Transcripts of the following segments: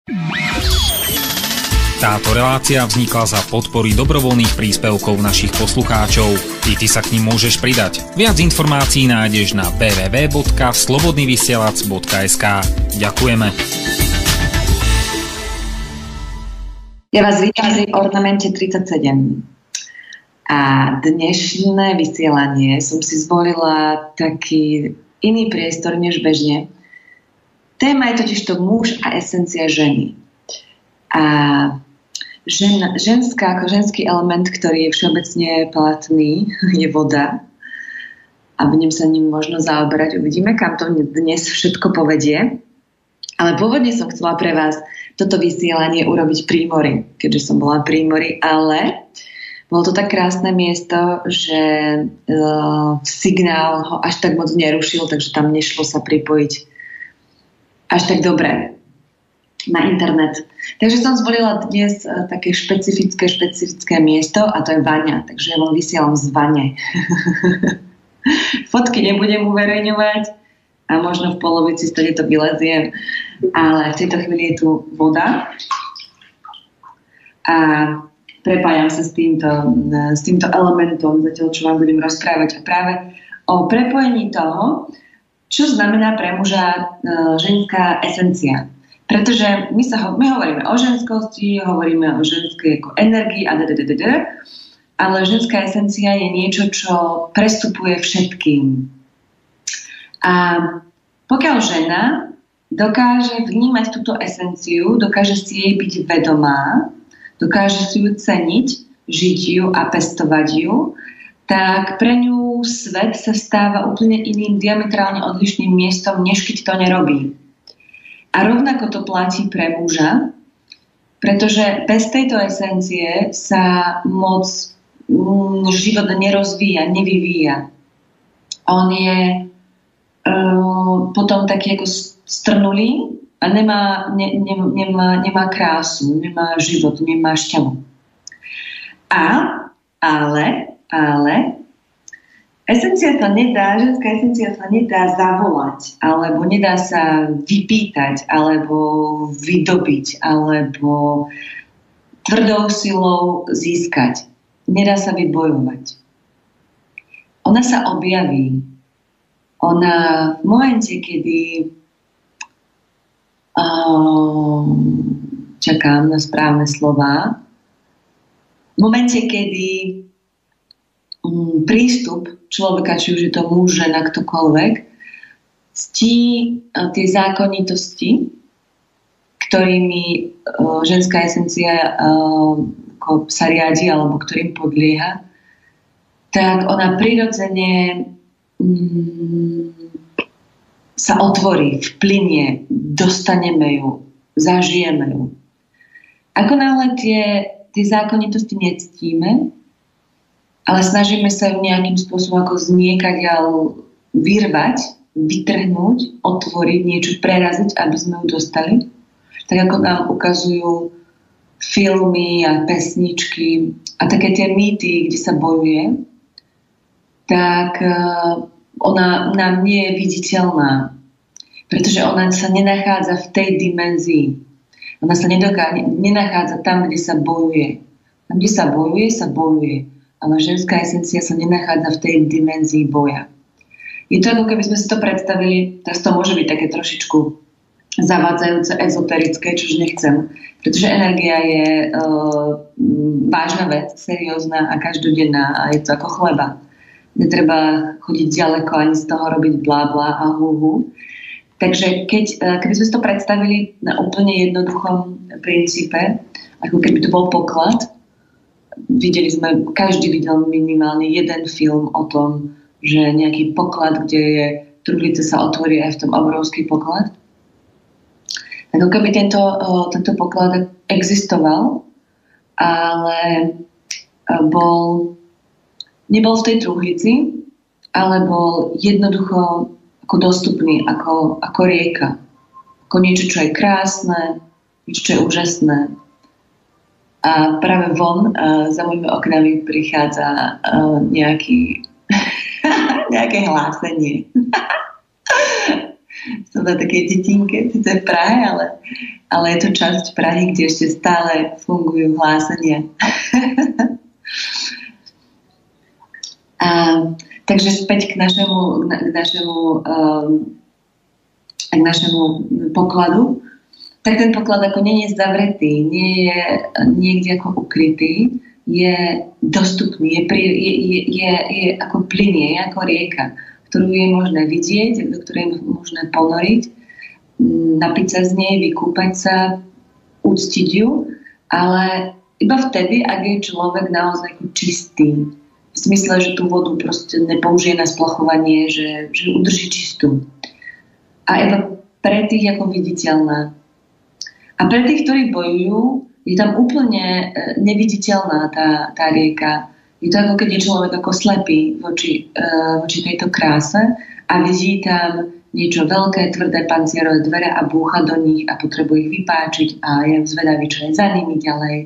Táto relácia vznikla za podpory dobrovoľných príspevkov našich poslucháčov. I ty sa k ním môžeš pridať. Viac informácií nájdeš na www.slobodnyvysielac.sk. Ďakujeme. Ja vás vítam v ornamente 37. A dnešné vysielanie som si zvolila taký iný priestor než bežne. Téma je totiž to muž a esencia ženy. A ženská, ako ženský element, ktorý je všeobecne platný, je voda. A budem sa ním možno zaoberať. Uvidíme, kam to dnes všetko povedie. Ale pôvodne som chcela pre vás toto vysielanie urobiť pri mori, keďže som bola pri mori, ale bolo to tak krásne miesto, že signál ho až tak moc nerušil, takže tam nešlo sa pripojiť až tak dobre na internet. Takže som zvolila dnes také špecifické miesto a to je vaňa. Takže ja vám vysielam z vane. Fotky nebudem uverejňovať a možno v polovici stade to vyleziem, ale v tejto chvíli je tu voda a prepájam sa s týmto elementom, zatiaľ čo vám budem rozprávať a práve o prepojení toho, čo znamená pre muža ženská esencia. Pretože my hovoríme o ženskosti, hovoríme o ženskej ako energii ale ženská esencia je niečo, čo prestupuje všetkým. A pokiaľ žena dokáže vnímať túto esenciu, dokáže si jej byť vedomá, dokáže si ju ceniť, žiť ju a pestovať ju, tak pre ňu svet sa stáva úplne iným, diametrálne odlišným miestom, než keď to nerobí. A rovnako to platí pre muža, pretože bez tejto esencie sa moc život nerozvíja, nevyvíja. On je potom taký ako strnulý a nemá krásu, nemá život, nemá šťavu. Ale ženská esencia sa nedá zavolať, alebo nedá sa vypýtať, alebo vydobiť, alebo tvrdou silou získať. Nedá sa vybojovať. Ona sa objaví. Ona v momente, kedy čakám na správne slová, v momente, kedy prístup človeka, či už je to muž, žena, ktokoľvek, ctí tie zákonitosti, ktorými ženská esencia sa riadi alebo ktorým podlieha, tak ona prirodzene sa otvorí, vplynie, dostaneme ju, zažijeme ju. Ako náhle tie zákonitosti nectíme, ale snažíme sa ju nejakým spôsobom ako zniekaďal vyrvať, vytrhnúť, otvoriť, niečo preraziť, aby sme ju dostali. Tak ako nám ukazujú filmy a pesničky a také tie mýty, kde sa bojuje, tak ona nám nie je viditeľná, pretože ona sa nenachádza v tej dimenzii. Ona sa nenachádza tam, kde sa bojuje. Tam, kde sa bojuje. Ale ženská esencia sa nenachádza v tej dimenzii boja. Je to ako keby sme si to predstavili, teraz to môže byť také trošičku zavádzajúce, ezoterické, čož nechcem, pretože energia je vážna vec, seriózna a každodenná a je to ako chleba. Netreba chodiť ďaleko ani z toho robiť blá blá a hu. Takže keby sme si to predstavili na úplne jednoduchom princípe, ako keby to bol poklad, každý videl minimálne jeden film o tom, že nejaký poklad, kde je truhlice sa otvorí aj v tom obrovský poklad. Ako keby tento poklad existoval, ale nebol v tej truhlici, ale bol jednoducho ako dostupný, ako rieka. Ako niečo, čo je krásne, niečo, čo je úžasné. A práve von za mojimi oknami prichádza nejaké hlásenie. Som na takej detinke, sice v Prahe, ale je to časť Prahy, kde ešte stále fungujú hlásenia. Takže späť k našemu pokladu. Tak ten poklad ako nie je zavretý, nie je niekde ako ukrytý, je dostupný, je ako plynie, je ako rieka, ktorú je možné vidieť, do ktorej je možné ponoriť, napiť sa z nej, vykúpať sa, uctiť ju, ale iba vtedy, ak je človek naozaj ako čistý. V smysle, že tú vodu proste nepoužije na splachovanie, že udrží čistú. A iba pre tých ako viditeľná. A pre tých, ktorí bojujú, je tam úplne neviditeľná tá rieka. Je to ako keď je človek ako slepý voči tejto kráse a vidí tam niečo veľké, tvrdé pancierové dvere a búcha do nich a potrebuje ich vypáčiť a je zvedavý, čo je za nimi ďalej.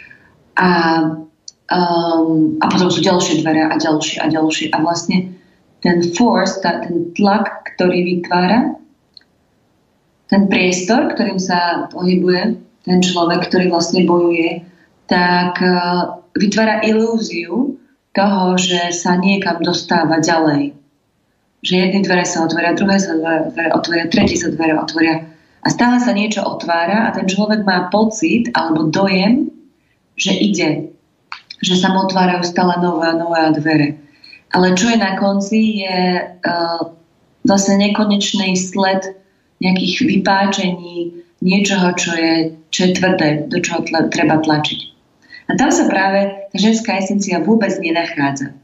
A potom sú ďalšie dvere a ďalšie a ďalšie. A vlastne ten force, ten tlak, ktorý vytvára, ten priestor, ktorým sa pohybuje ten človek, ktorý vlastne bojuje, tak vytvára ilúziu toho, že sa niekam dostáva ďalej. Že jedny dvere sa otvoria, druhé sa dvere otvoria, tretí sa dvere otvoria. A stále sa niečo otvára a ten človek má pocit alebo dojem, že ide. Že sa mu otvárajú stále nové a nové dvere. Ale čo je na konci, je vlastne nekonečný sled nejakých vypáčení, niečoho, čo je tvrdé, do čoho treba tlačiť. A tam sa práve tá ženská esencia vôbec nenachádza.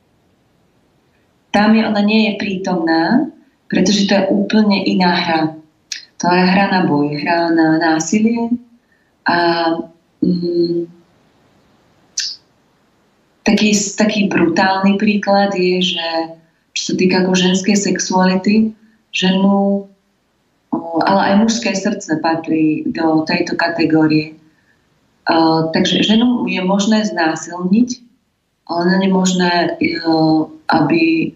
Tam ona nie je prítomná, pretože to je úplne iná hra. To je hra na boj, hra na násilie a taký brutálny príklad je, že čo sa týka ako ženskej sexuality, ženu, ale aj mužské srdce patrí do tejto kategórie. Takže ženu je možné znásilniť, ale nie je možné, aby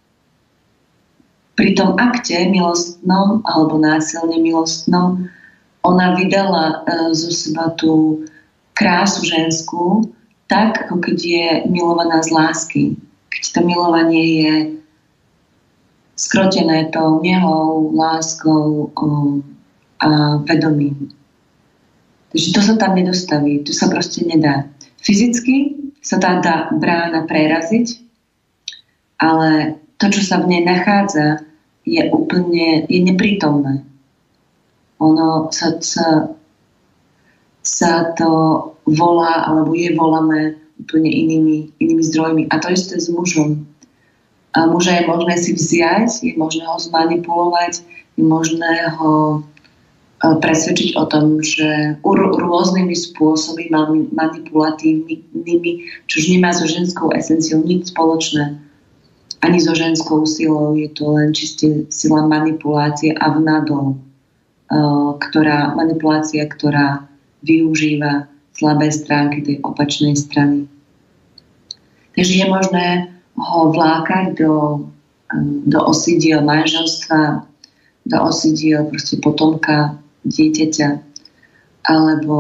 pri tom akte milostnom alebo násilne milostnom ona vydala zo seba tú krásu ženskú tak, ako keď je milovaná z lásky. Keď to milovanie je skrotené tou nehou, láskou a vedomím. Takže to sa tam nedostaví, to sa proste nedá. Fyzicky sa tá dá brána preraziť, ale to, čo sa v nej nachádza, je neprítomné. Ono sa to volá, alebo je volané úplne inými zdrojmi. A to isté s mužom. A muža je možné si vziať, je možné ho zmanipulovať, je možné ho presvedčiť o tom, že rôznymi spôsobmi manipulatívnymi, čož nemá so ženskou esenciou nič spoločné, ani so ženskou silou, je to len čiste sila manipulácie a vnadol, manipulácia, ktorá využíva slabé stránky tej opačnej strany. Takže je možné ho vlákať do osidiel manželstva, do osidiel proste potomka, dieťaťa, alebo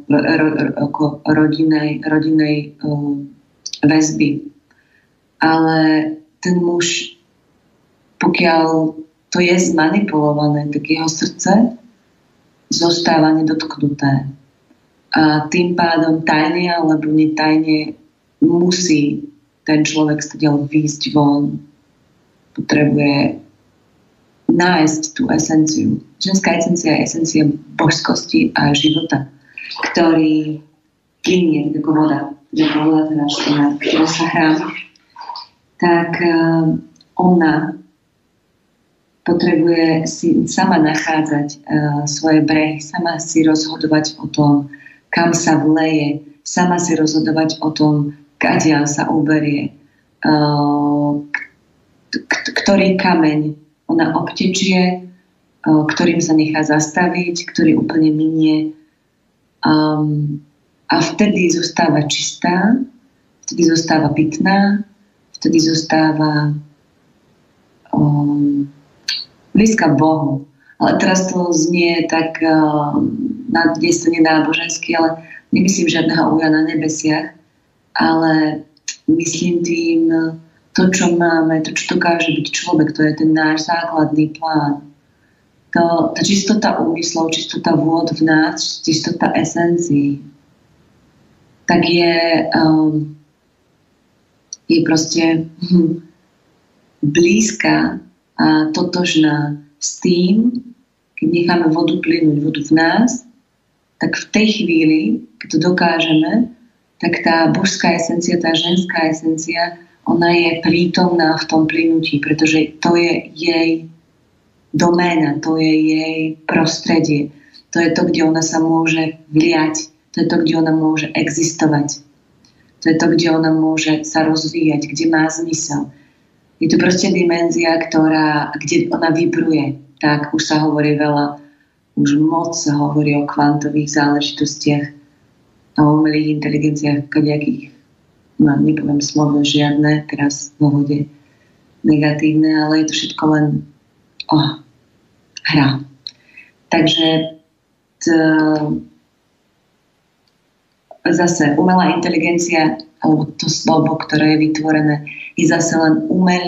rodinej väzby. Ale ten muž, pokiaľ to je zmanipulované, tak jeho srdce zostáva nedotknuté. A tým pádom tajne alebo netajne musí ten človek stadiaľ výjsť von. Potrebuje nájsť tú esenciu. Ženská esencia je esencia božskosti a života, ktorý plynie ako voda, ktorá sa hrá. Tak ona potrebuje si sama nachádzať svoje brehy, sama si rozhodovať o tom, kam sa vleje, sama si rozhodovať o tom, kadiaľ sa uberie, ktorý kameň ona obtečie, ktorým sa nechá zastaviť, ktorý úplne minie. A vtedy zostáva čistá, vtedy zostáva pitná, vtedy zostáva blízka Bohu. Ale teraz to znie tak na dnes nenábožensky, ale nemyslím žiadneho Uja na nebesiach, ale myslím tým to, čo máme, to, čo dokáže byť človek, to je ten náš základný plán. Tá čistota úmyslov, čistota vôd v nás, čistota esencií, tak je proste blízka a totožná s tým, keď necháme vodu plynúť, vodu v nás, tak v tej chvíli, keď to dokážeme, tak tá božská esencia, tá ženská esencia, ona je prítomná v tom plynutí, pretože to je jej doména, to je jej prostredie. To je to, kde ona sa môže vliať. To je to, kde ona môže existovať. To je to, kde ona môže sa rozvíjať, kde má zmysel. Je to proste dimenzia, kde ona vibruje. Tak už sa hovorí veľa, už moc sa hovorí o kvantových záležitostiach a o umelých inteligenciách, kadejakých, nepoviem slovo žiadne, teraz v vode negatívne, ale je to všetko len hra. Takže zase umelá inteligencia, alebo to slovo, ktoré je vytvorené, je zase len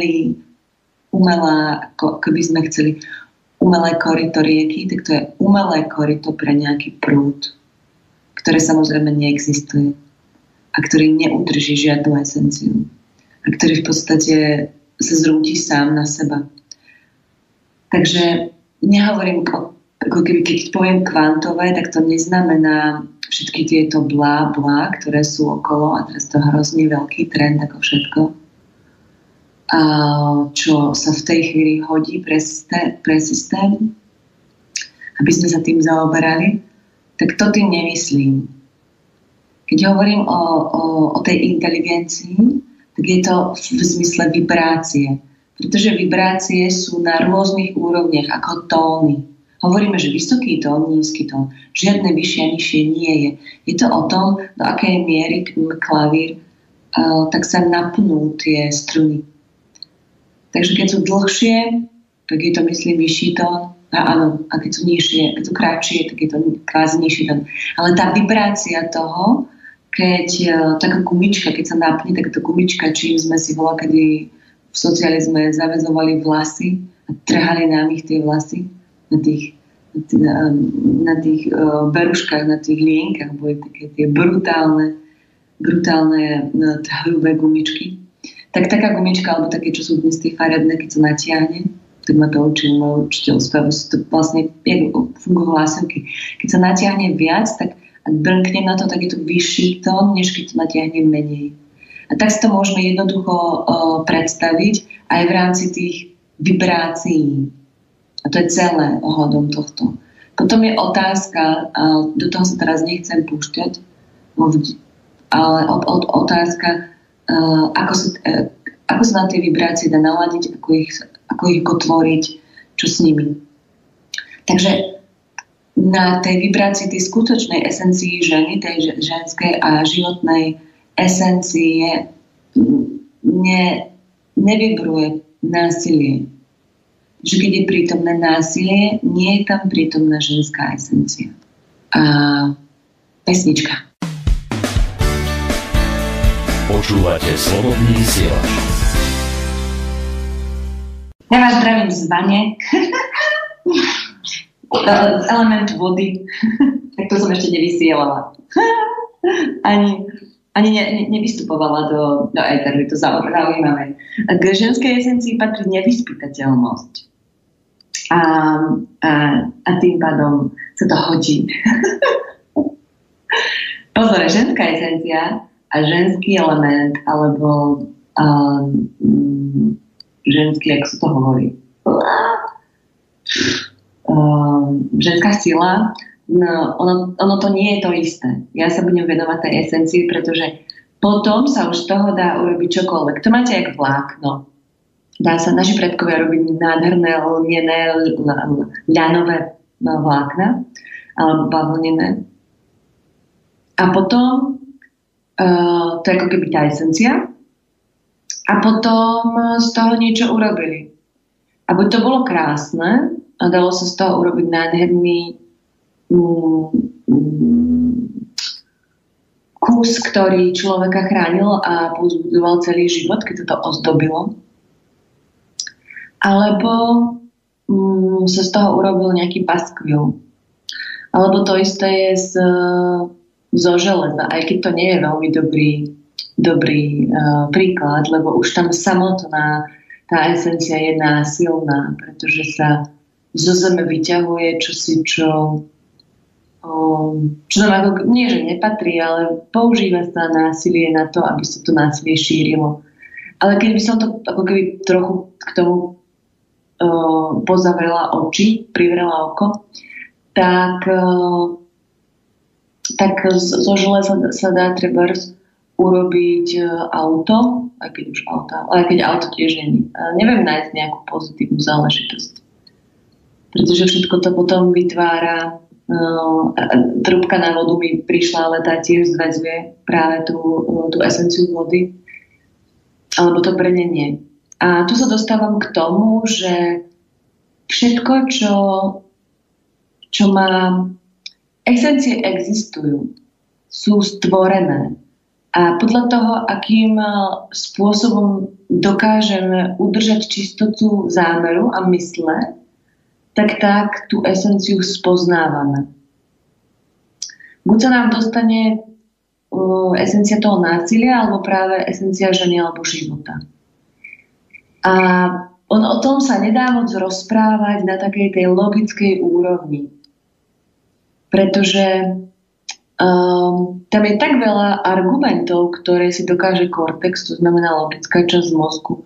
keby sme chceli umelé koryto rieky, tak to je umelé koryto pre nejaký prúd, ktoré samozrejme neexistuje a ktorý neudrží žiadnu esenciu a ktorý v podstate sa zrúti sám na seba. Takže nehovorím, ako keď poviem kvantové, tak to neznamená všetky tieto blá, ktoré sú okolo, a teraz to hrozný veľký trend ako všetko, a čo sa v tej chvíli hodí pre systém, aby sme sa tým zaoberali, tak to tým nemyslím. Keď hovorím o tej inteligencii, tak je to v zmysle vibrácie. Pretože vibrácie sú na rôznych úrovniach, ako tóny. Hovoríme, že vysoký tón, nízky tón. Žiadne vyššie a nižšie nie je. Je to o tom, do akej miery klavír, tak sa napnú tie struny. Takže keď sú dlhšie, tak je to, myslím, vyšší tón. Áno, a keď sú nižšie, keď sú kratšie, tak je to kvázi nižší tón. Ale tá vibrácia toho, keď taká gumička, keď sa napne, tak to gumička, čím sme si kedy v socializme zaväzovali vlasy a trhali nám ich tie vlasy na tých beruškách, na tých lienkach boli také tie brutálne hrubé gumičky. Tak taká gumička, alebo také, čo sú dnes tie farebné, keď sa natiahne, tak ma to učil môj učiteľ spevu, to vlastne fungujú hlasivky. Keď sa natiahne viac, tak ak brnknem na to, tak je to vyšší tón, než keď to natiahne menej. A tak si to môžeme jednoducho predstaviť aj v rámci tých vibrácií. A to je celé ohľadom tohto. Potom je otázka, a do toho sa teraz nechcem púšťať, ale otázka, ako sa na tie vibrácie dá naladiť, ako ich tvoriť, čo s nimi. Takže na tej vibrácii, tej skutočnej esencii ženy, tej ženskej a životnej esencie nevibruje násilie. Že keď je prítomné násilie, nie je tam prítomná ženská esencia. A pesnička. Počúvate Slobodný vysielač. Ja vás zdravím z bane. Z elementu vody. Tak to som ešte nevysielala. Ani nevystupovala do éteru. Je to zaujímavé. K ženskej esencii patrí nevyspytateľnosť. A tým pádom sa to hodí. Pozor, ženská esencia a ženský element, alebo ženský, ako sa to hovorí, ženská sila, no, ono to nie je to isté. Ja sa budem venovať tej esencii, pretože potom sa už z toho dá urobiť čokoľvek. To máte jak vlákno. Dá sa, naši predkovia robiť nádherné lnené ľanové vlákna alebo bavlnené. A potom to je ako keby tá esencia. A potom z toho niečo urobili. aby to bolo krásne a dalo sa z toho urobiť nádherný kus, ktorý človeka chránil a povzbudzoval celý život, keď to ozdobilo. Alebo sa z toho urobil nejaký paskvil. Alebo to isté je zo železa, aj keď to nie je veľmi dobrý príklad, lebo už tam samotná tá esencia je násilná, pretože sa zo zeme vyťahuje čosi, čo nám ako, nie že nepatrí, ale používa sa násilie na to, aby sa to násilie šírilo. Ale keď by som to ako keby trochu k tomu pozavrela oči, privrela oko, tak zo železa sa dá trebárs urobiť auto, aj keď auto tiež nie. Neviem nájsť nejakú pozitívnu záležitosť. Pretože všetko to potom vytvára trúbka na vodu mi prišla, ale tá tiež zväzuje práve tú esenciu vody alebo to brnenie. A tu sa dostávam k tomu, že všetko, čo má esencie existujú, sú stvorené. A podľa toho, akým spôsobom dokážeme udržať čistotu zámeru a mysle, tak tú esenciu spoznávame. Buď sa nám dostane esencia toho násilia, alebo práve esencia ženy alebo života. A o tom sa nedá moc rozprávať na takej tej logickej úrovni. Pretože tam je tak veľa argumentov, ktoré si dokáže kortex, to znamená logická časť mozgu,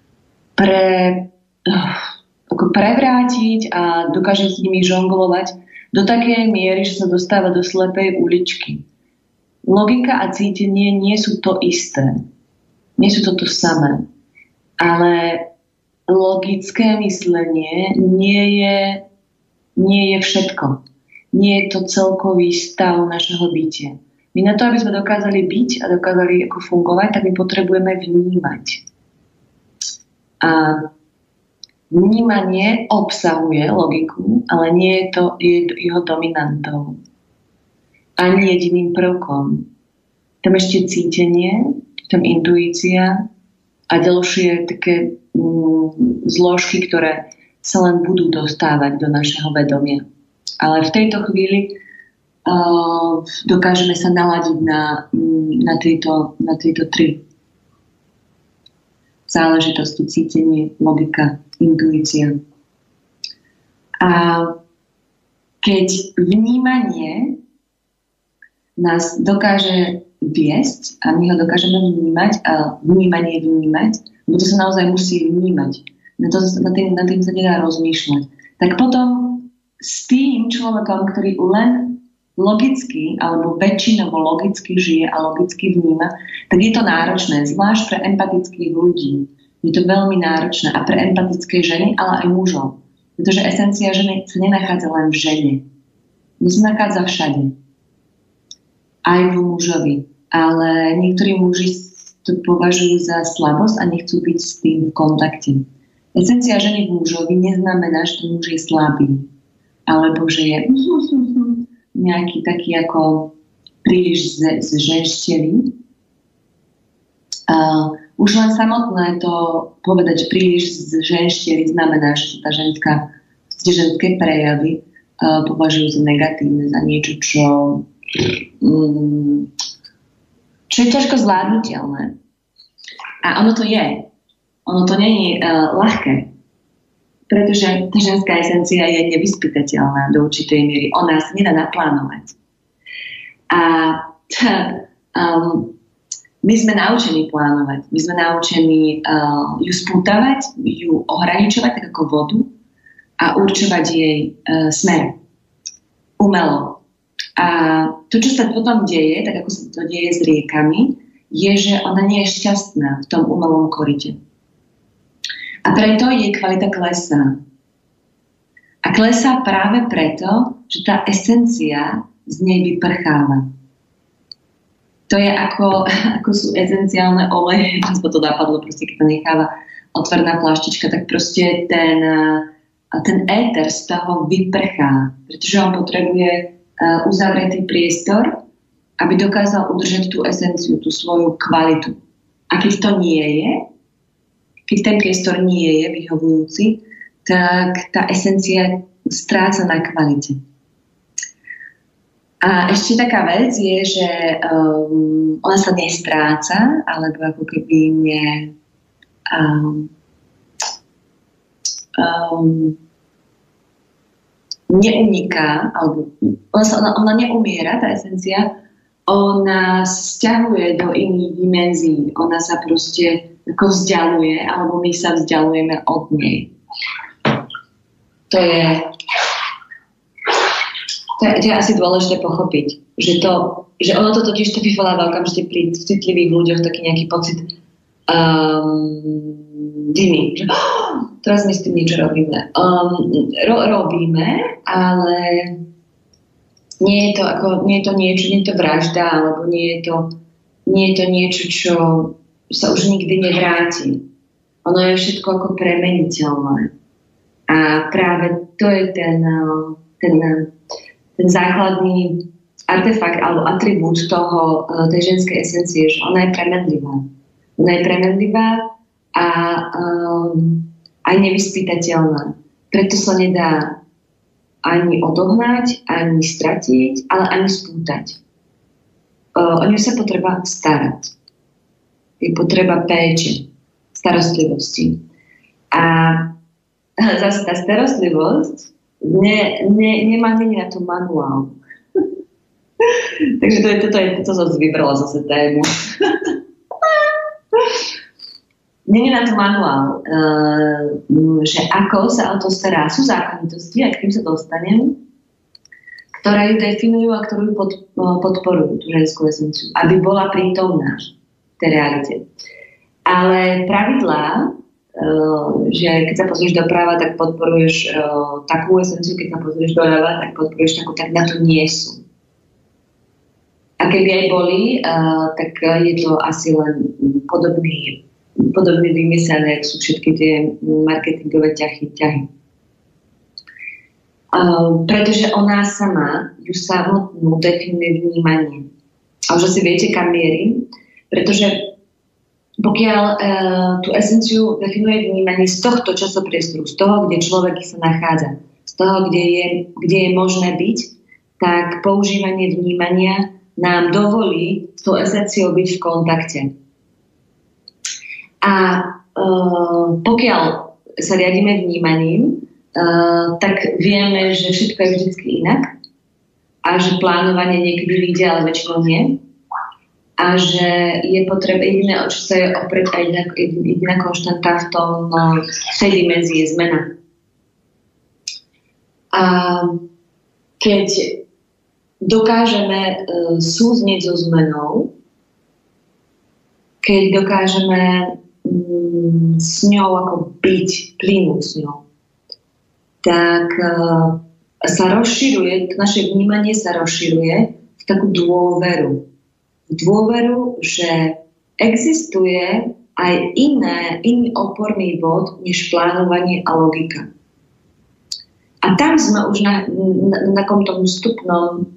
prevrátiť a dokáže s nimi žonglovať do takej miery, že sa dostáva do slepej uličky. Logika a cítenie nie sú to isté. Nie sú to samé. Ale logické myslenie nie je všetko. Nie je to celkový stav našeho bytia. My na to, aby sme dokázali byť a dokázali ako fungovať, tak my potrebujeme vnímať. A vnímanie obsahuje logiku, ale nie je to jeho dominantou. Ani jediným prvkom. Tam ešte cítenie, tam intuícia a ďalšie také zložky, ktoré sa len budú dostávať do našeho vedomia. Ale v tejto chvíli dokážeme sa naladiť na tieto tri záležitosti: cítenie, logika, intuícia. A keď vnímanie nás dokáže viesť a my ho dokážeme vnímať a vnímanie vnímať, lebo to sa naozaj musí vnímať. Na tým sa nedá rozmýšľať. Tak potom s tým človekom, ktorý len logicky alebo väčšinovo logicky žije a logicky vníma, tak je to náročné, zvlášť pre empatických ľudí. Je to veľmi náročné a pre empatické ženy, ale aj mužov. Pretože esencia ženy sa nenachádza len v žene. To sa nachádza všade. Aj v mužovi. Ale niektorí muži to považujú za slabosť a nechcú byť s tým v kontakte. Esencia ženy v mužovi neznamená, že ten muž je slabý. Alebo že je nejaký taký ako príliš zženštelý. Už len samotné to povedať, že príliš zženštelý znamená, že tá ženské prejavy považujú za negatívne, za niečo, čo je ťažko zvládnutelné. A ono to je. Ono to nie je ľahké. Pretože tá ženská esencia je nevyspytateľná do určitej miery. Ona sa nedá naplánovať. A my sme naučení plánovať. My sme naučení ju spútavať, ju ohraničovať tak ako vodu a určovať jej smer. Umelo. A to, čo sa potom deje, tak ako sa to deje s riekami, je, že ona nie je šťastná v tom umelom korite. A preto jej kvalita klesá. A klesá práve preto, že tá esencia z nej vyprcháva. To je ako sú esenciálne oleje, aspoň to napadlo, proste keď to necháva otvorená pláštička, tak proste ten éter z toho vyprchá, pretože on potrebuje uzavretý priestor, aby dokázal udržať tú esenciu, tú svoju kvalitu. A keď to nie je, keď ten priestor nie je vyhovujúci, tak tá esencia stráca na kvalite. A ešte taká vec je, že ona sa nestráca, alebo ako keby neuniká, alebo ona neumiera, tá esencia, ona sťahuje do iných dimenzií, ona sa proste ako vzdialuje, alebo my sa vzdialujeme od nej. To je asi dôležité pochopiť, že ono to totiž to vyvoláva okamžite pri citlivých ľuďoch taký nejaký pocit viny. Teraz my s tým niečo robíme. Robíme, ale nie je to niečo, nie je to vražda, alebo nie je to niečo, čo sa už nikdy nevráti. Ono je všetko ako premeniteľné. A práve to je ten základný artefakt alebo atribút tej ženskej esencie, že ona je premenlivá. Ona je premenlivá a aj nevyspytateľná. Preto sa nedá ani odohnať, ani stratiť, ale ani spútať. O ňu sa potreba starať. Je potreba péče, starostlivosti. A zase tá starostlivosť nemá na to manuál. Takže to som vybrala zase tému. Nie je na to manuál, že ako sa o to stará. Sú zákonitosti, a k tým sa dostanem, ktoré ju definujú a ktorú podporujú tú ženskú esenciu, aby bola prítomná v tej realite. Ale pravidlá, že keď sa pozrieš doprava, tak podporuješ takú esenciu, keď sa pozrieš doľava, tak podporuješ takú, tak na to nie sú. A keby aj boli, tak je to asi len podobne vymyslené, ako sú všetky tie marketingové ťahy. Pretože ona sama ju samotnú definuje vnímanie. A už asi viete, kam mierim, pretože pokiaľ tú esenciu definuje vnímanie z tohto časopriestoru, z toho, kde človek sa nachádza, z toho, kde je možné byť, tak používanie vnímania nám dovolí s tou esenciou byť v kontakte. A pokiaľ sa riadíme vnímaním, tak vieme, že všetko je vždy inak a že plánovanie niekedy vyjde, ale väčšinou nie. A že je potreba jediné, o čo sa je oprieť, a jediná konštanta v tej dimenzii je zmena. A keď dokážeme súznieť so zmenou, keď dokážeme s ňou ako byť, plynúť s ňou, tak sa rozširuje, naše vnímanie sa rozširuje v takú dôveru. Dôveru, že existuje aj iný oporný bod než plánovanie a logika. A tam sme už na takomto vstupnom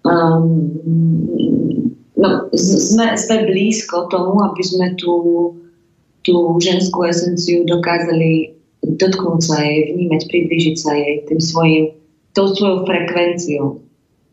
sme blízko tomu, aby sme tú ženskú esenciu dokázali dotknúť sa jej, vnímať, priblížiť sa jej tou svojou frekvenciou.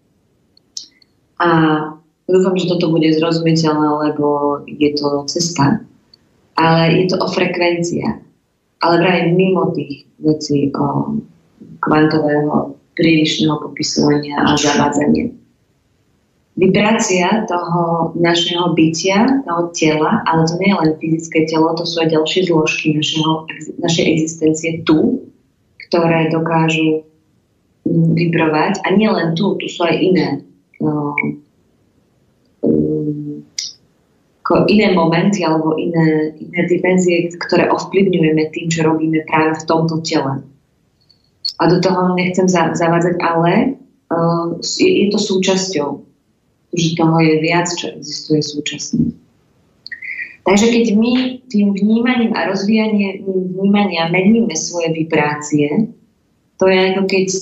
A dúfam, že toto bude zrozumiteľné, lebo je to cesta, ale je to o frekvenciách. Ale vraj mimo tých vecí o kvantového prílišného popisovania a zavádzania. Vibrácia toho našeho bytia, toho tela, ale to nie je len fyzické telo, to sú aj ďalšie zložky našej existencie tu, ktoré dokážu vibrovať. A nie len tu sú aj iné momenty alebo iné dimenzie, ktoré ovplyvňujeme tým, čo robíme práve v tomto tele. A do toho nechcem zavádzať, ale je to súčasťou. Že toho je viac, čo existuje súčasne. Takže keď my tým vnímaním a rozvíjaním vnímania meníme svoje vibrácie, to je ako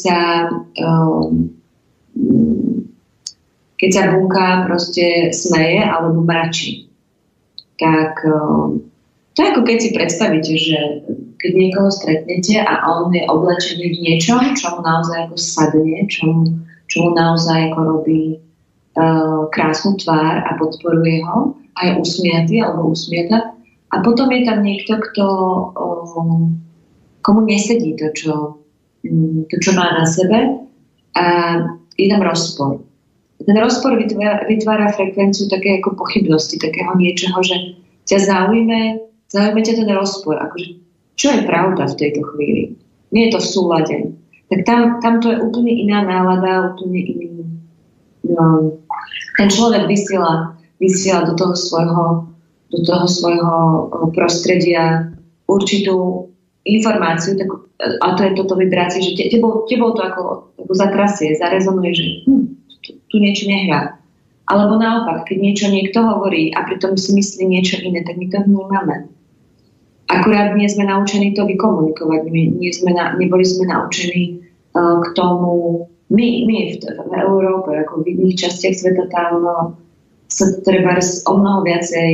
keď sa bunka proste smeje alebo mračí. Tak to je ako keď si predstavíte, že keď niekoho stretnete a on je oblečený v niečom, čo mu naozaj ako sadne, čo mu naozaj ako robí krásnu tvár a podporuje ho a je usmiatý alebo usmiata. A potom je tam niekto, komu nesedí to, čo má na sebe a je tam rozpor. Ten rozpor vytvára frekvenciu také ako pochybnosti, takého niečoho, že ťa zaujme ťa ten rozpor. Akože, čo je pravda v tejto chvíli? Nie je to v súlade. Tak tam to je úplne iná nálada, úplne iný. No, ten človek vysiela do toho svojho prostredia určitú informáciu, a to je toto vibrácie, že tebou to ako zatrasie, zarezonuje, že tu niečo nehrá. Alebo naopak, keď niečo niekto hovorí a pritom si myslí niečo iné, tak my to vnímame. Akurát nie sme naučení to vykomunikovať. Neboli sme naučení k tomu. My v Európe, ako v iných častiach sveta, tam sa treba o mnoho viacej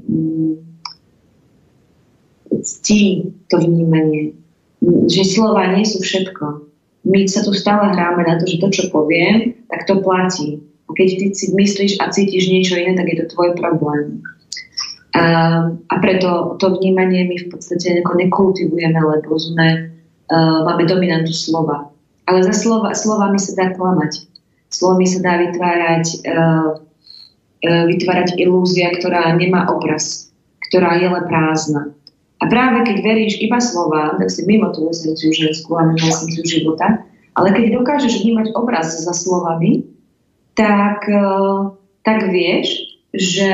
ctí to vnímanie. Že slova nie sú všetko. My sa tu stále hráme na to, že to, čo poviem, tak to platí. A keď ty si myslíš a cítiš niečo iné, tak je to tvoj problém. A preto to vnímanie my v podstate nekultivujeme, lebo máme dominantu slova. Ale za slovami sa dá klamať. Slovami sa dá vytvárať ilúzia, ktorá nemá obraz, ktorá je len prázdna. A práve keď veríš iba slovám, tak si mimo tú esenciu ženskú a mimo esenciu života, ale keď dokážeš vnímať obraz za slovami, tak vieš, že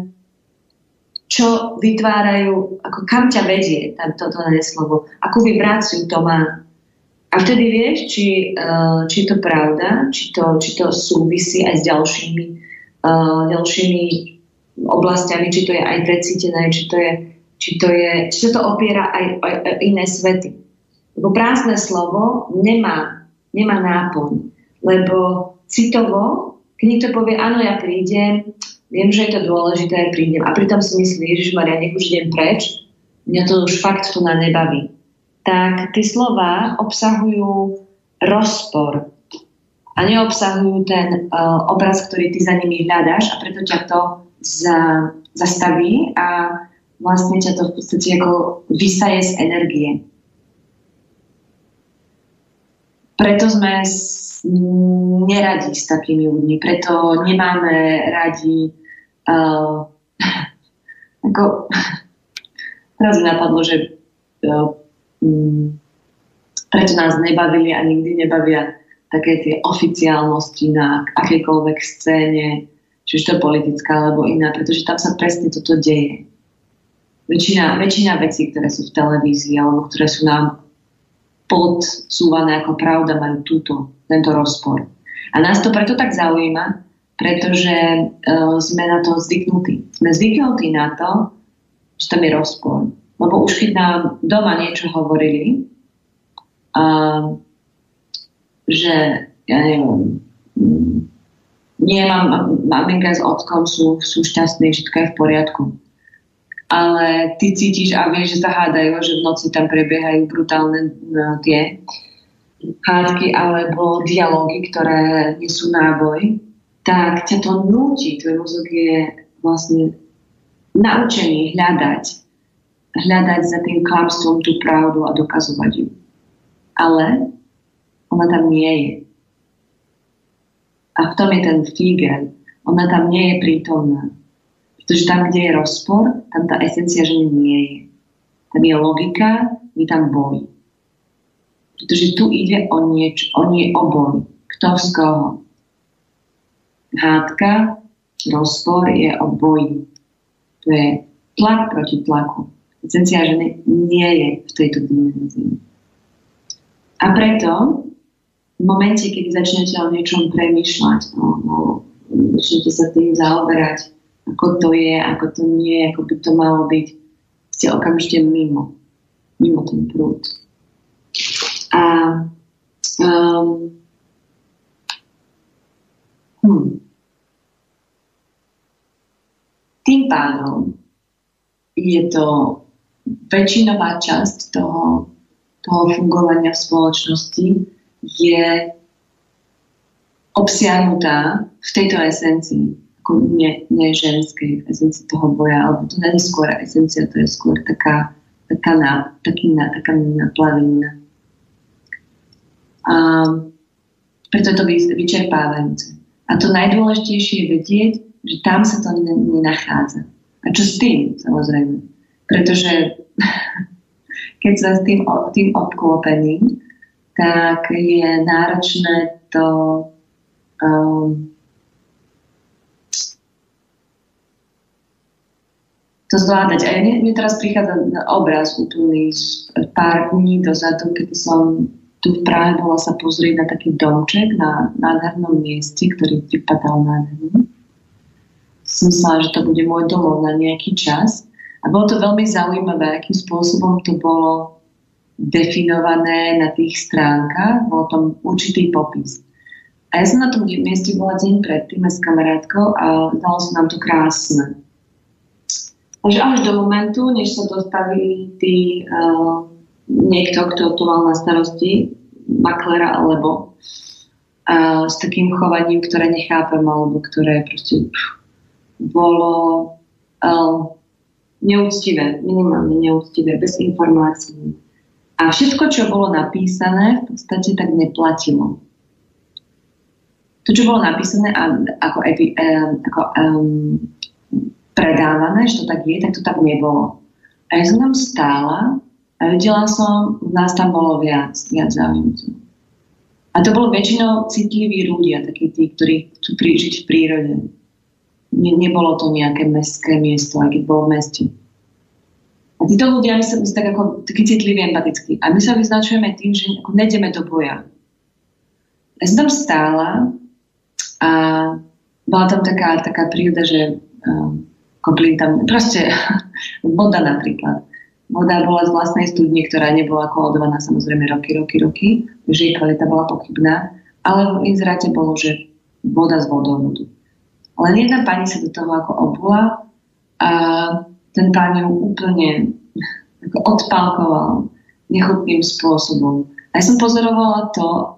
čo vytvárajú, ako kam ťa vedie toto slovo, akú vibráciu to má. A vtedy vieš, či to pravda, či to súvisí aj s ďalšími oblastiami, či to je aj precítené, či sa to opiera aj o iné svety. Lebo prázdne slovo nemá náplň. Lebo citovo, keď niekto povie, áno, ja prídem, viem, že je to dôležité, prídem. A pritom si myslí, Ježišmaria, nech už idem preč, mňa to už fakt tu na nebaví. Tak tie slova obsahujú rozpor a neobsahujú ten obraz, ktorý ty za nimi hľadáš, a preto ťa to zastaví a vlastne ťa to v podstate ako vysaje z energie. Preto sme neradi s takými ľuďmi, preto nemáme radi ako teraz mi napadlo, že prečo nás nebavili a nikdy nebavia také tie oficiálnosti na akejkoľvek scéne, či už to je politická alebo iná, pretože tam sa presne toto deje. Väčšina vecí, ktoré sú v televízii alebo ktoré sú nám podsúvané ako pravda, majú tento rozpor. A nás to preto tak zaujíma, pretože sme na to zvyknutí. Sme zvyknutí na to, že tam je rozpor. Lebo už keď nám doma niečo hovorili, že ja neviem, maminka s otcom sú šťastní, všetko je v poriadku. Ale ty cítiš a vieš, že sa hádajú, že v noci tam prebiehajú brutálne tie hádky alebo dialógy, ktoré nie sú náboj, tak ťa to núti. Tvoj mozog je vlastne naučený hľadať za tým klamstvom tú pravdu a dokazovať ju. Ale ona tam nie je. A v tom je ten fígel. Ona tam nie je prítomná. Pretože tam, kde je rozpor, tam tá esencia ženy nie je. Tam je logika, je tam boj. Pretože tu ide o boj. Kto z koho? Hádka, rozpor je o boji. To je tlak proti tlaku. Esencia ženy nie je v tejto dimenzii. A preto v momente, keď začnete o niečom premýšľať, začnete sa tým zaoberať, ako to je, ako to nie, ako by to malo byť, ste okamžite mimo ten prúd. A tým pádom je to väčšinová časť toho fungovania v spoločnosti je obsiahnutá v tejto esencii, ako nie ženskej esencii toho boja, alebo to nie je skôr esencia, to je skôr taká naplavenina. A preto je to vyčerpávajúce. A to najdôležitejšie je vedieť, že tam sa to nenachádza. A čo s tým, samozrejme? Pretože keď sa s tým obklopením, tak je náročné to zvládať. A mne teraz prichádza obraz úplný z pár dní dozadu, keď som tu v Prahe bola sa pozrieť na taký domček na nádhernom mieste, ktorý vypadal nádherne. Som myslela, že to bude môj domov na nejaký čas. A bolo to veľmi zaujímavé, akým spôsobom to bolo definované na tých stránkach. Bol tam určitý popis. A ja som na tom mieste bola deň predtým s kamarátkou a dalo sa nám to krásne. Takže až do momentu, než sa dostaví niekto, kto to mal na starosti, maklera alebo s takým chovaním, ktoré nechápem, alebo ktoré proste bolo neúctivé, minimálne neúctivé, bez informácií. A všetko, čo bolo napísané, v podstate tak neplatilo. To, čo bolo napísané ako predávané, že to tak je, tak to tak nebolo. A ja som tam stála a videla som, nás tam bolo viac záujemcov. A to bolo väčšinou citliví ľudia, takí tí, ktorí chcú žiť v prírode. Nebolo to nejaké mestské miesto, aj keď bolo v meste. A títo ľudia, my sa tak ako takí citliví, empatickí. A my sa vyznačujeme tým, že ako nejdeme do boja. Ja som tam stála a bola tam taká príroda, že koplín tam, proste voda napríklad. Voda bola z vlastnej studne, ktorá nebola kolodovaná samozrejme roky, takže jej kvalita bola pochybná, ale v inzeráte bolo, že voda z vodovodu. Len jedna pani sa do toho ako obula a ten pán ju úplne ako odpálkoval nechutným spôsobom. A ja som pozorovala to,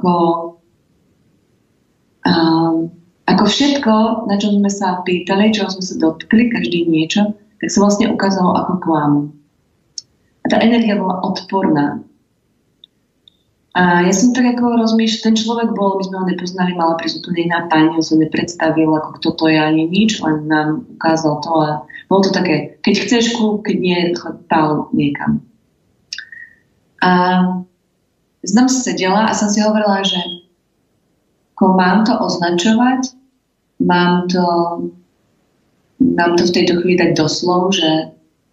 ako všetko, na čo sme sa pýtali, čo sme sa dotkli, každý niečo, tak sa vlastne ukázalo ako klamu. A tá energia bola odporná. A ja som tak ako rozmýšľala, ten človek bol, my sme ho nepoznali, mala prísť úplne iná pani, on sa nepredstavil, ako kto to je ani nič, len nám ukázal to a bolo to také, keď chceš kľúb, keď nie, pál niekam. A znam sedela a som si hovorila, že mám to označovať, mám to v tejto chvíli dať doslov, že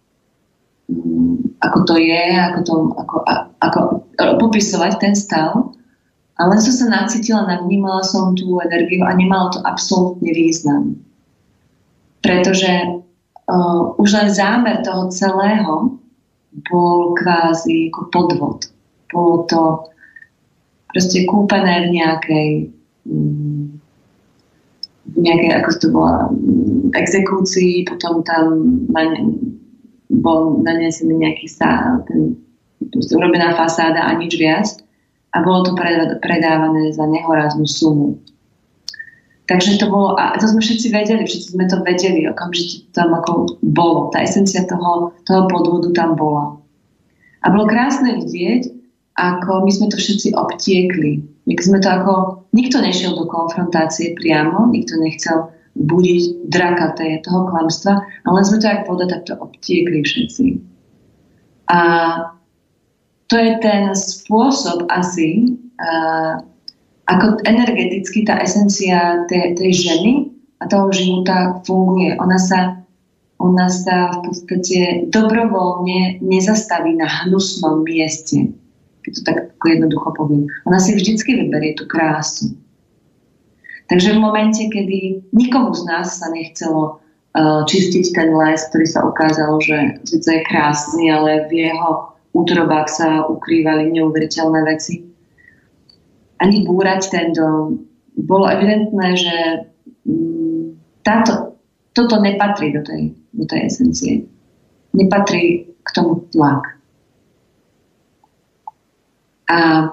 ako to je, ako popisovať ten stav. A len som sa nacítila, navnímala som tú energiu a nemalo to absolútne význam. Pretože už len zámer toho celého bol kvázi ako podvod. Bolo to proste kúpené v nejakej, ako to bola, exekúcii, potom tam bol nanesený nejaký urobená fasáda a nič viac a bolo to predávané za nehoráznú sumu. Takže to bolo, a to sme všetci sme to vedeli, okamžite tam ako bolo, tá esencia toho podvodu tam bola. A bolo krásne vidieť, ako my sme to všetci obtiekli. Nikto nešiel do konfrontácie priamo, nikto nechcel budiť draka toho klamstva, ale sme to jak voda takto obtiekli všetci. A to je ten spôsob asi, ako energeticky tá esencia tej ženy a toho života funguje. Ona sa v podstate dobrovoľne nezastaví na hnusnom mieste, keď to tak jednoducho poviem. Ona si vždycky vyberie tú krásu. Takže v momente, kedy nikomu z nás sa nechcelo čistiť ten les, ktorý sa ukázal, že síce je krásny, ale v jeho útrobách sa ukrývali neuveriteľné veci. Ani búrať ten dom. Bolo evidentné, že toto nepatrí do tej esencie. Nepatrí k tomu tlak. A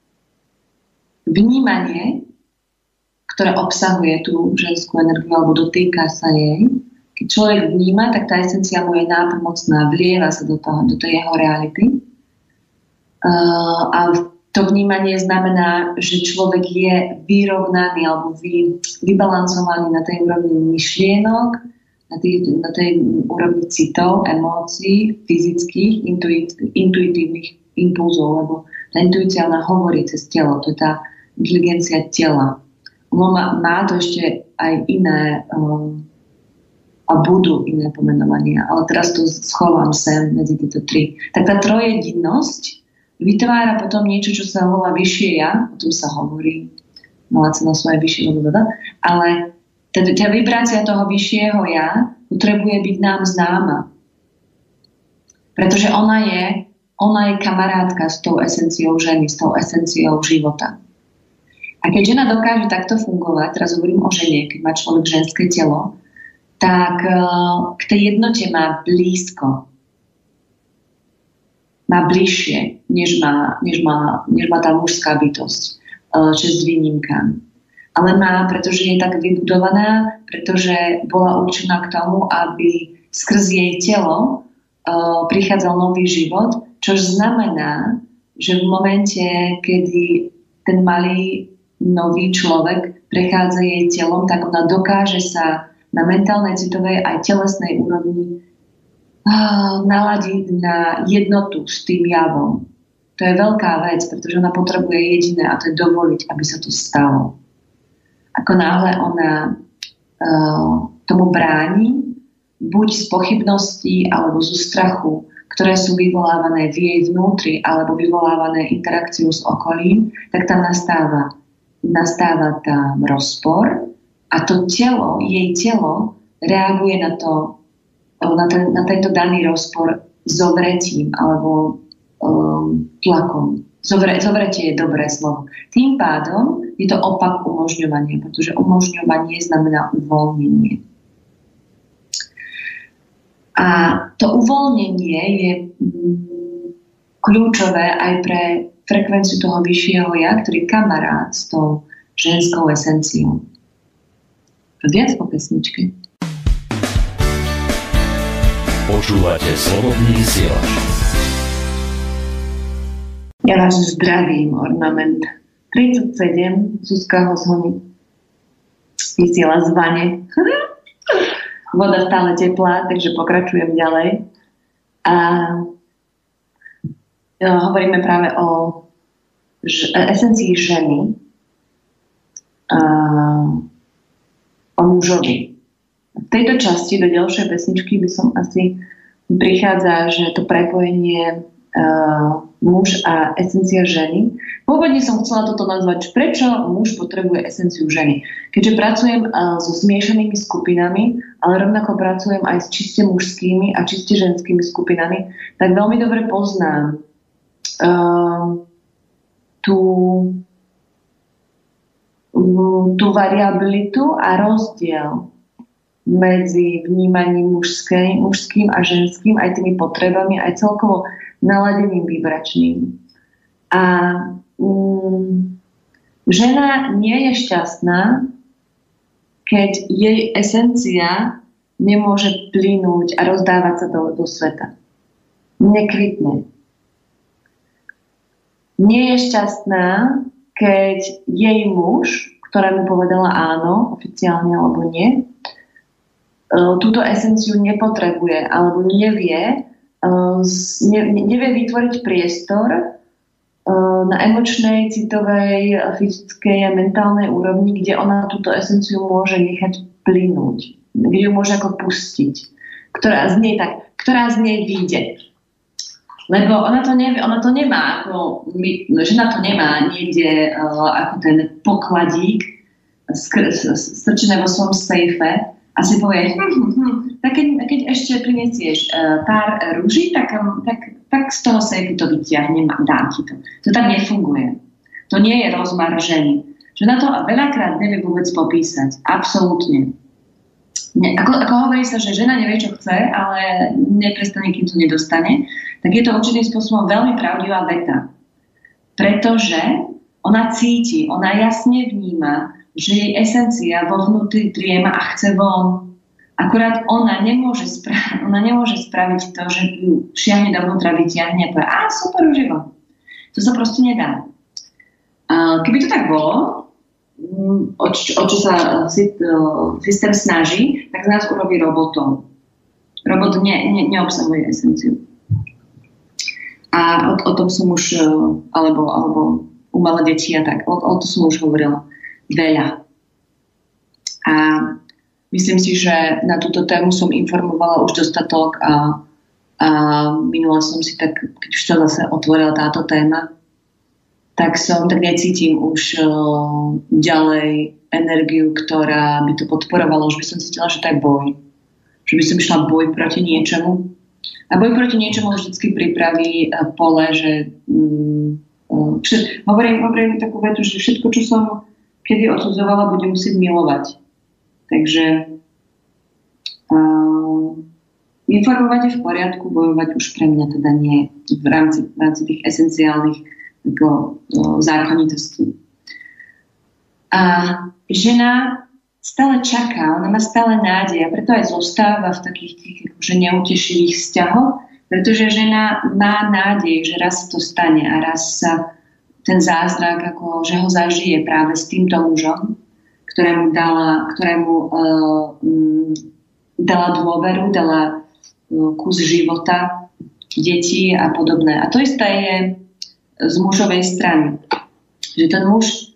vnímanie, ktoré obsahuje tú ženskú energiu alebo dotýka sa jej, keď človek vníma, tak tá esencia mu je nápomocná, vlieva sa do tej jeho reality. A to vnímanie znamená, že človek je vyrovnaný alebo vybalancovaný na tej úrovni myšlienok, na tej úrovni citov, emócií, fyzických, intuitívnych impulzov, lebo tá intuícia ona hovorí cez telo, to je tá inteligencia tela. Ono má to ešte aj iné a budú iné pomenovania, ale teraz to schovám sem medzi tieto tri. Tak tá trojjedinnosť vytvára potom niečo, čo sa volá vyššie ja, o tom sa hovorí, mala sa na svoje vyššie, ale tá vibrácia toho vyššieho ja potrebuje byť nám známa. Pretože ona je kamarátka s tou esenciou ženy, s tou esenciou života. A keď žena dokáže takto fungovať, teraz hovorím o žene, keď má človek ženské telo, tak k tej jednote má blízko. Má bližšie, než má tá mužská bytosť, česť výnimkám. Ale má, pretože je tak vybudovaná, pretože bola určená k tomu, aby skrz jej telo prichádzal nový život, čo znamená, že v momente, kedy ten malý nový človek prechádza jej telom, tak ona dokáže sa na mentálnej, citovej aj telesnej úrovni naladiť na jednotu s tým javom. To je veľká vec, pretože ona potrebuje jediné, a to je dovoliť, aby sa to stalo. Ako náhle ona tomu bráni, buď z pochybností alebo zo strachu, ktoré sú vyvolávané v jej vnútri alebo vyvolávané interakciou s okolím, tak tam nastáva tam rozpor a to telo, jej telo reaguje na tento daný rozpor zovretím alebo tlakom. Zovretie je dobré slovo. Tým pádom je to opak umožňovania, pretože umožňovanie znamená uvoľnenie. A to uvoľnenie je kľúčové aj pre frekvenciu toho vyššieho ja, ktorý je kamarát s tou ženskou esenciou. Viac po pesničke. Počúvate Slobodný vysielač. Ja vás zdravím, Ornament 37, Zuzka Hozhony. Vysiela z vane. Voda stále teplá, takže pokračujem ďalej. A hovoríme práve o esencii ženy, o mužovi. V tejto časti do ďalšej pesničky by som asi prichádza, že to prepojenie muž a esencia ženy. Pôvodne som chcela toto nazvať, prečo muž potrebuje esenciu ženy. Keďže pracujem so zmiešanými skupinami, ale rovnako pracujem aj s čiste mužskými a čiste ženskými skupinami, tak veľmi dobre poznám tú variabilitu a rozdiel medzi vnímaním mužským a ženským, aj tými potrebami, aj celkovo naladením vibračným. A žena nie je šťastná, keď jej esencia nemôže plynúť a rozdávať sa do sveta. Nekvitne. Nie je šťastná, keď jej muž, ktorému povedala áno, oficiálne alebo nie, túto esenciu nepotrebuje alebo nevie vytvoriť priestor na emočnej, citovej, fyzickej a mentálnej úrovni, kde ona túto esenciu môže nechať plynúť, kde ju môže ako pustiť, ktorá z nej vyjde. Lebo ona to nemá, žena to nemá niekde ako ten pokladík strčené vo svojom sejfe, a si povie, tak keď ešte prinesieš pár rúží, tak z toho sejfu to vyťahnem a dám ti to. To tak nefunguje. To nie je rozmar ženy. Že na to veľakrát nevie vôbec popísať. Absolútne. Ako hovorí sa, že žena nevie, čo chce, ale neprestane, kým to nedostane, tak je to určitým spôsobom veľmi pravdivá veta. Pretože ona cíti, ona jasne vníma, že jej esencia vo vnútri driema a chce von. Akurát ona nemôže spraviť to, že ju šiahne dovnútra, vyťahne a povie, super, už je von. To sa proste nedá. Keby to tak bolo, o čo sa systém snaží, tak z nás urobí robotov. Robot neobsahuje esenciu. A o tom som už, alebo u malé deti a tak, o tom som už hovorila veľa. A myslím si, že na túto tému som informovala už dostatok a minula som si tak, keď už to zase otvorila táto téma, tak necítim už ďalej energiu, ktorá by to podporovala. Už by som cítila, že to je boj. Že by som išla boj proti niečomu. A boj proti niečomu vždycky pripraví pole, že hovorím takú vetu, že všetko, čo som kedy odsudzovala, budem musieť milovať. Takže informovať je v poriadku, bojovať už pre mňa teda nie v rámci tých esenciálnych zákonitostí. A žena stále čaká, ona má stále nádej a preto aj zostáva v takých tých akože neutešivých vzťahoch, pretože žena má nádej, že raz to stane a raz sa ten zázrak, ako, že ho zažije práve s týmto mužom, ktorému dala dôveru, dala kus života, detí a podobné. A to isté je z mužovej strany. Že ten muž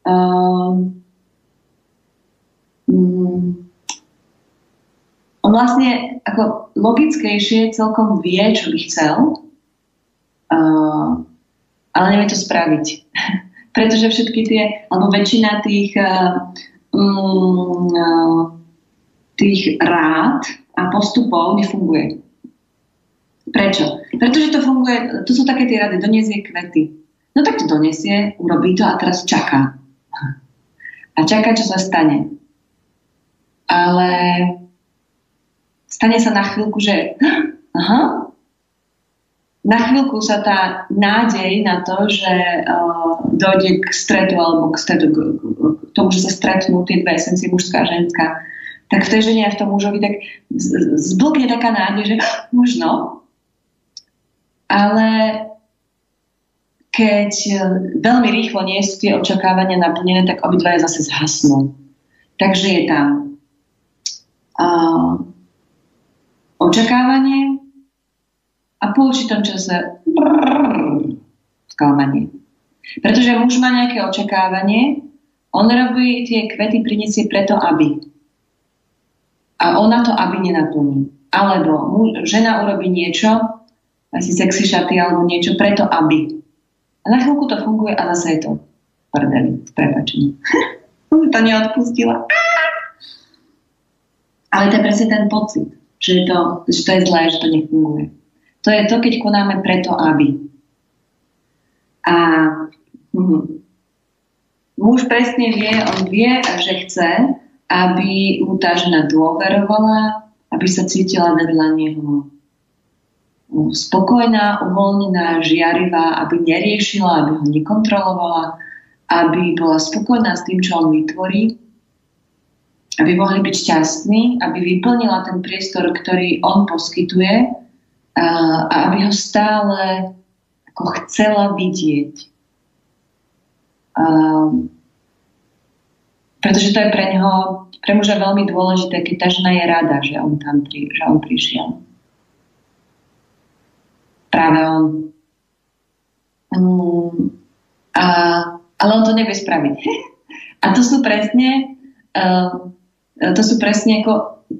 on vlastne ako logickejšie celkom vie, čo by chcel, ale nevie to spraviť. Pretože všetky tie, alebo väčšina tých rád a postupov nefunguje. Prečo? Pretože to funguje, to sú také tie rady, doniesie kvety. No tak to doniesie, urobí to a teraz čaká. A čaká, čo sa stane. Ale stane sa na chvíľku, že na chvíľku sa tá nádej na to, že dojde k stretu alebo k tomu, že sa stretnú tie dve esencie, mužská a ženská, tak v tej žene a v tom mužovi tak zblkne taká nádej, že možno. Ale keď veľmi rýchlo nie sú tie očakávania naplnené, tak obidvaja zase zhasnú. Takže je tam očakávanie a po určitom čase sklamanie. Pretože muž má nejaké očakávanie, on robí tie kvety, prinesie preto, aby. A ona to aby nenaplní. Alebo žena urobí niečo, asi sexy šaty alebo niečo preto, aby. A na chvíľku to funguje a zase je to prdeli, s prepáčením. To neodpustila. Ale to je presne ten pocit, že to je zlé, že to nefunguje. To je to, keď konáme preto, aby. A muž presne vie, on vie, že chce, aby mu tá žena dôverovala, aby sa cítila vedľa neho spokojná, uvoľnená, žiarivá, aby neriešila, aby ho nekontrolovala, aby bola spokojná s tým, čo on vytvorí, aby mohli byť šťastní, aby vyplnila ten priestor, ktorý on poskytuje a aby ho stále ako chcela vidieť. Pretože to je pre muža veľmi dôležité, keď tá žena je rada, že on prišiel. Práve on. Ale on to nevie spraviť. A to sú presne ako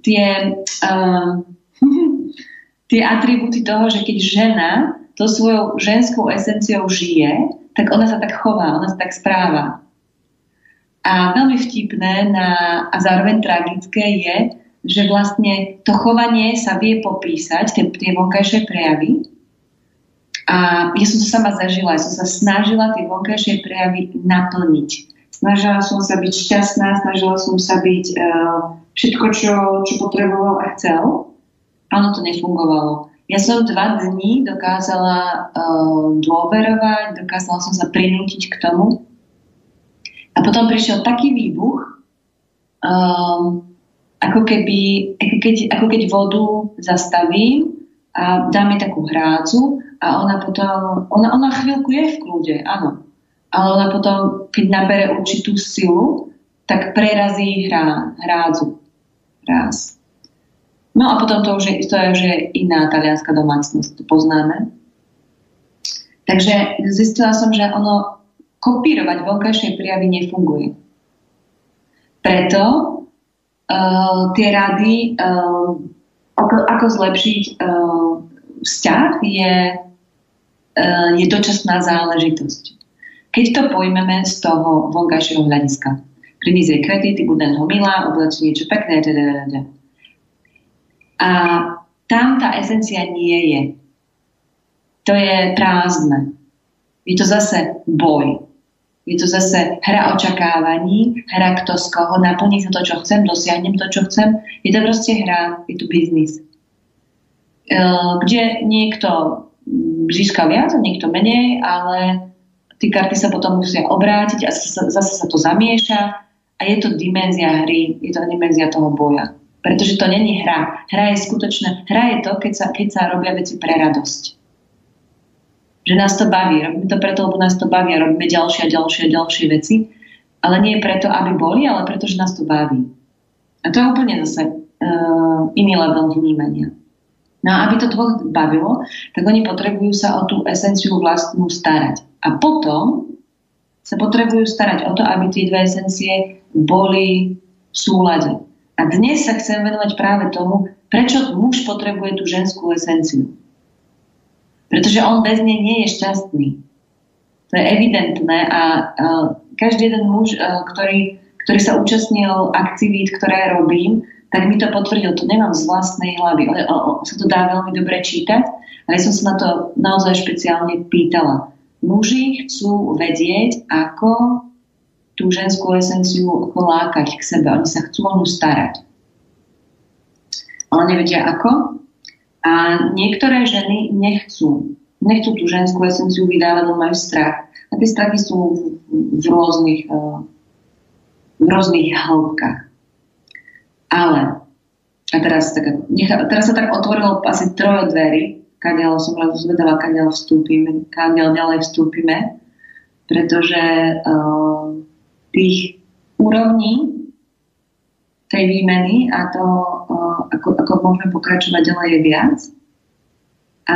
tie atribúty toho, že keď žena to svojou ženskou esenciou žije, tak ona sa tak chová, ona sa tak správa. A veľmi vtipné a zároveň tragické je, že vlastne to chovanie sa vie popísať, tie vonkajšie prejavy. A ja som to sama zažila, ja som sa snažila tie vonkajšie prejavy naplniť. Snažila som sa byť šťastná, snažila som sa byť všetko, čo potreboval a chcel. Áno, to nefungovalo. Ja som 2 dní dokázala dôverovať, dokázala som sa prinútiť k tomu. A potom prišiel taký výbuch, ako keď vodu zastavím a dám jej takú hrádzu a ona potom, ona chvíľku je v kľude, áno. Ale ona potom, keď nabere určitú silu, tak prerazí hrádzu. Raz. No a potom to už je iná talianska domácnosť, to poznáme. Takže zistila som, že ono kopírovať vonkajšie prejavy nefunguje. Preto tie rady, ako zlepšiť vzťah, je dočasná záležitosť. Keď to pojmeme z toho vonkajšieho hľadiska. Priniesť kredity, budem ho milá, oblečiť niečo pekné, A tam tá esencia nie je. To je prázdne. Je to zase boj. Je to zase hra očakávaní, hra kto z koho, naplní sa to, čo chcem, dosiahnem to, čo chcem. Je to proste hra, je to biznis. Kde niekto získa viac, niekto menej, ale tí karty sa potom musia obrátiť a zase sa to zamieša a je to dimenzia hry, je to dimenzia toho boja. Pretože to není hra. Hra je skutočná. Hra je to, keď sa robia veci pre radosť. Že nás to baví. Robíme to preto, lebo nás to baví a robíme ďalšie veci. Ale nie preto, aby boli, ale preto, že nás to baví. A to je úplne zase iný level vnímania. No a aby to dvoch bavilo, tak oni potrebujú sa o tú esenciu vlastnú starať. A potom sa potrebujú starať o to, aby tie 2 esencie boli v súlade. A dnes sa chcem venovať práve tomu, prečo muž potrebuje tú ženskú esenciu. Pretože on bez nej nie je šťastný. To je evidentné a každý jeden muž, ktorý sa účastnil aktivít, ktoré robím, tak mi to potvrdil. To nemám z vlastnej hlavy. Sa to dá veľmi dobre čítať, ale ja som sa na to naozaj špeciálne pýtala. Muži chcú vedieť, ako tú ženskú esenciu lákať k sebe. Oni sa chcú o ňu starať. Ale nevedia ako. A niektoré ženy nechcú tú ženskú esenciu vydávať, lebo majú strach. A tie strachy sú v rôznych hĺbkach. Ale, a teraz sa tak otvorilo asi 3 dverí, kadiaľ som zvedala, kadiaľ ďalej vstúpime, pretože tých úrovní tej výmeny a to, ako môžeme pokračovať ďalej, je viac. A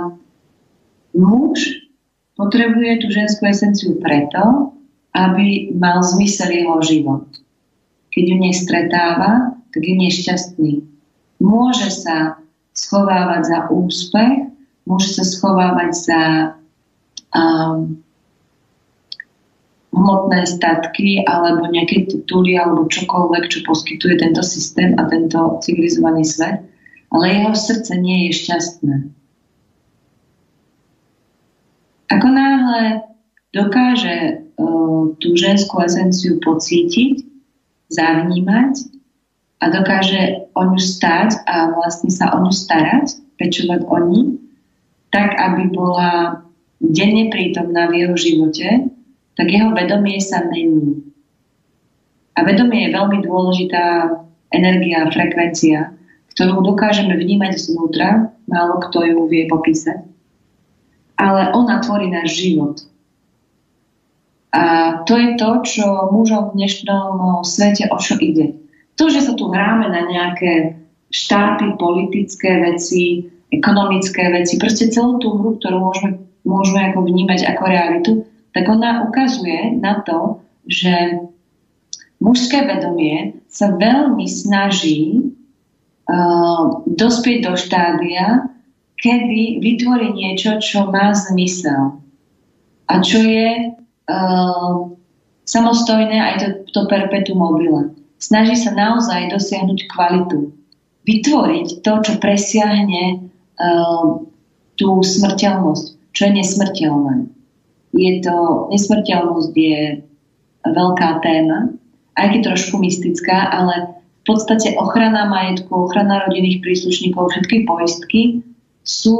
muž potrebuje tú ženskú esenciu preto, aby mal zmysel jeho život. Keď ju nestretáva, tak je nešťastný. Môže sa schovávať za úspech, môže sa schovávať za hmotné statky alebo nejaké tituly alebo čokoľvek, čo poskytuje tento systém a tento civilizovaný svet, ale jeho srdce nie je šťastné. Ako náhle dokáže tú ženskú esenciu pocítiť, zavnímať a dokáže o ňu stáť a vlastne sa o ňu starať, pečovať o ní, tak aby bola denne prítomná v jeho živote, tak jeho vedomie sa mení. A vedomie je veľmi dôležitá energia, frekvencia, ktorú dokážeme vnímať zvnútra, málo kto ju vie popísať. Ale ona tvorí náš život. A to je to, čo mužom v dnešnom svete o čo ide. To, že sa tu hráme na nejaké štáty, politické veci, ekonomické veci, proste celú tú hru, ktorú môžeme ako vnímať ako realitu, tak ona ukazuje na to, že mužské vedomie sa veľmi snaží dospieť do štádia, kedy vytvorí niečo, čo má zmysel. A čo je samostojné aj to perpetuum mobile. Snaží sa naozaj dosiahnuť kvalitu. Vytvoriť to, čo presiahne tú smrteľnosť, čo je nesmrteľné. Nesmrteľnosť je veľká téma, aj keď trošku mystická, ale v podstate ochrana majetku, ochrana rodinných príslušníkov, všetky poistky sú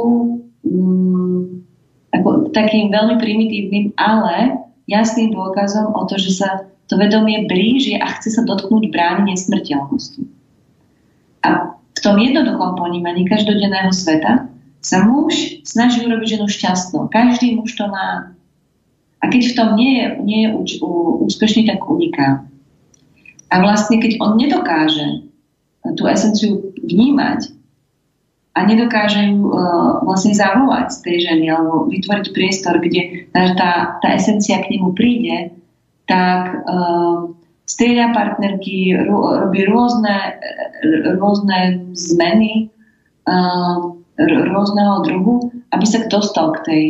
ako takým veľmi primitívnym, ale jasným dôkazom o to, že sa to vedomie blíži a chce sa dotknúť brány nesmrteľnosti. A v tom jednoduchom ponímaní každodenného sveta sa muž snaží urobiť ženu šťastnou. Každý muž to má. A keď v tom nie je úspešný, tak uniká. A vlastne, keď on nedokáže tú esenciu vnímať a nedokáže ju vlastne zavolať z tej ženy alebo vytvoriť priestor, kde tá esencia k nemu príde, tak strieda partnerky, robí rôzne zmeny rôzneho druhu, aby sa dostal k tej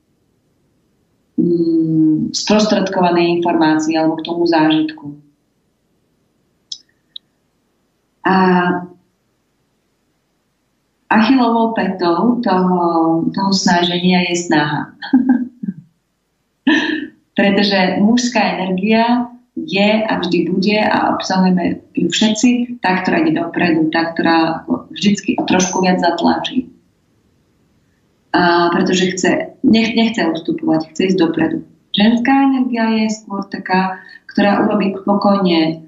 sprostredkovanej informácii alebo k tomu zážitku. A Achillovou pätou toho snaženia je snaha. Pretože mužská energia je a vždy bude a obsahujeme ju všetci, tá, ktorá ide dopredu, tá, ktorá vždycky trošku viac zatlačí. A pretože nechce ustupovať, chce ísť dopredu. Ženská energia je skôr taká, ktorá urobí pokojne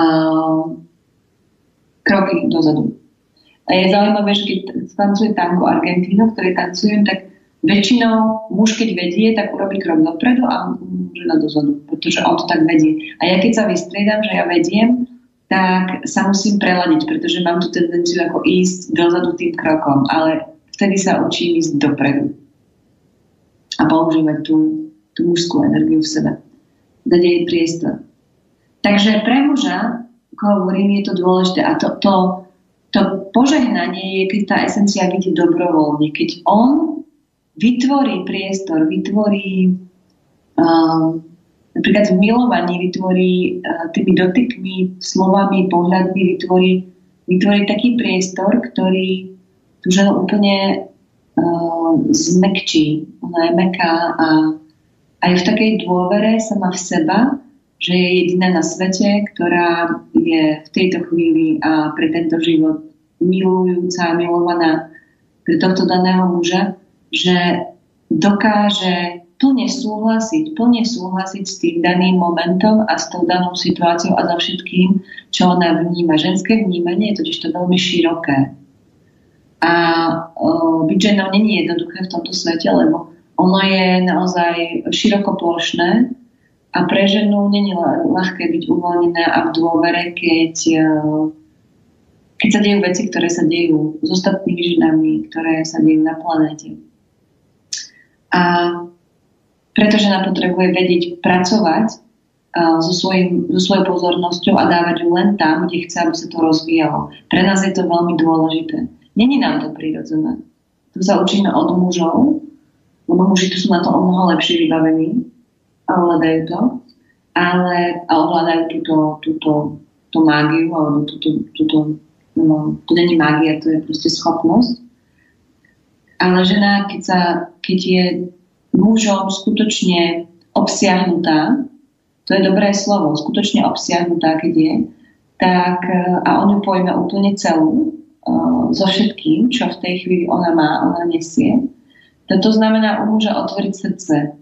kroky dozadu. A je zaujímavé, že keď tancuje tango Argentínu, ktoré tancujem, tak väčšinou muž, keď vedie, tak urobí krok dopredu a žena dozadu, pretože on to tak vedie. A ja keď sa vystriedam, že ja vediem, tak sa musím preladiť, pretože mám tú tendenciu ako ísť dozadu tým krokom, ale vtedy sa učím ísť dopredu a používať tú mužskú energiu v sebe. Dať jej priestor. Takže pre muža, ako hovorím, je to dôležité a to požehnanie je, keď tá esencia vidí dobrovoľne, keď on vytvorí priestor, napríklad v milovaní vytvorí tými dotykmi, slovami, pohľadmi, vytvorí taký priestor, ktorý tú ženu úplne zmekčí. Ona je mäkká a aj v takej dôvere sama v seba, že je jediná na svete, ktorá je v tejto chvíli a pre tento život milujúca, milovaná pre tohto daného muža, že dokáže plne súhlasiť s tým daným momentom a s tou danou situáciou a so všetkým, čo ona vníma. Ženské vnímanie je totiž to veľmi široké. A byť ženou nie je jednoduché v tomto svete, lebo ono je naozaj širokoplošné a pre ženu nie je ľahké byť uvoľnená a v dôvere, keď sa dejú veci, ktoré sa dejú s ostatnými ženami, ktoré sa dejú na planéte. A preto žena potrebuje vedieť pracovať so svojou pozornosťou a dávať ju len tam, kde chce, aby sa to rozvíjalo. Pre nás je to veľmi dôležité. Není nám to prirodzené. Tu sa učíme od mužov, lebo muži tu sú na to o mnoho lepšie vybavení a ovládajú to, a ovládajú túto mágiu, alebo to není mágia, to je proste schopnosť. Ale žena, keď je mužom skutočne obsiahnutá, to je dobré slovo, skutočne obsiahnutá, keď je, tak a on ju pojme úplne celú, so všetkým, čo v tej chvíli ona má, ona nesie. To znamená u muža otvoriť srdce.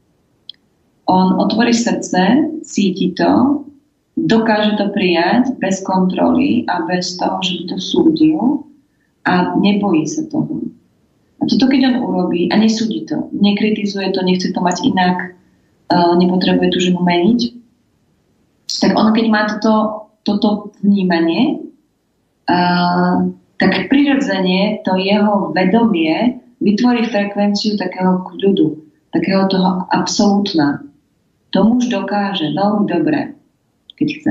On otvorí srdce, cíti to, dokáže to prijať bez kontroly a bez toho, že by to súdil a nebojí sa toho. A toto keď on urobí a nesúdi to, nekritizuje to, nechce to mať inak, nepotrebuje tú ženu meniť, tak on keď má toto vnímanie, tak prirodzene to jeho vedomie vytvorí frekvenciu takého kľudu, takého toho absolútna. To muž dokáže veľmi dobre, keď chce.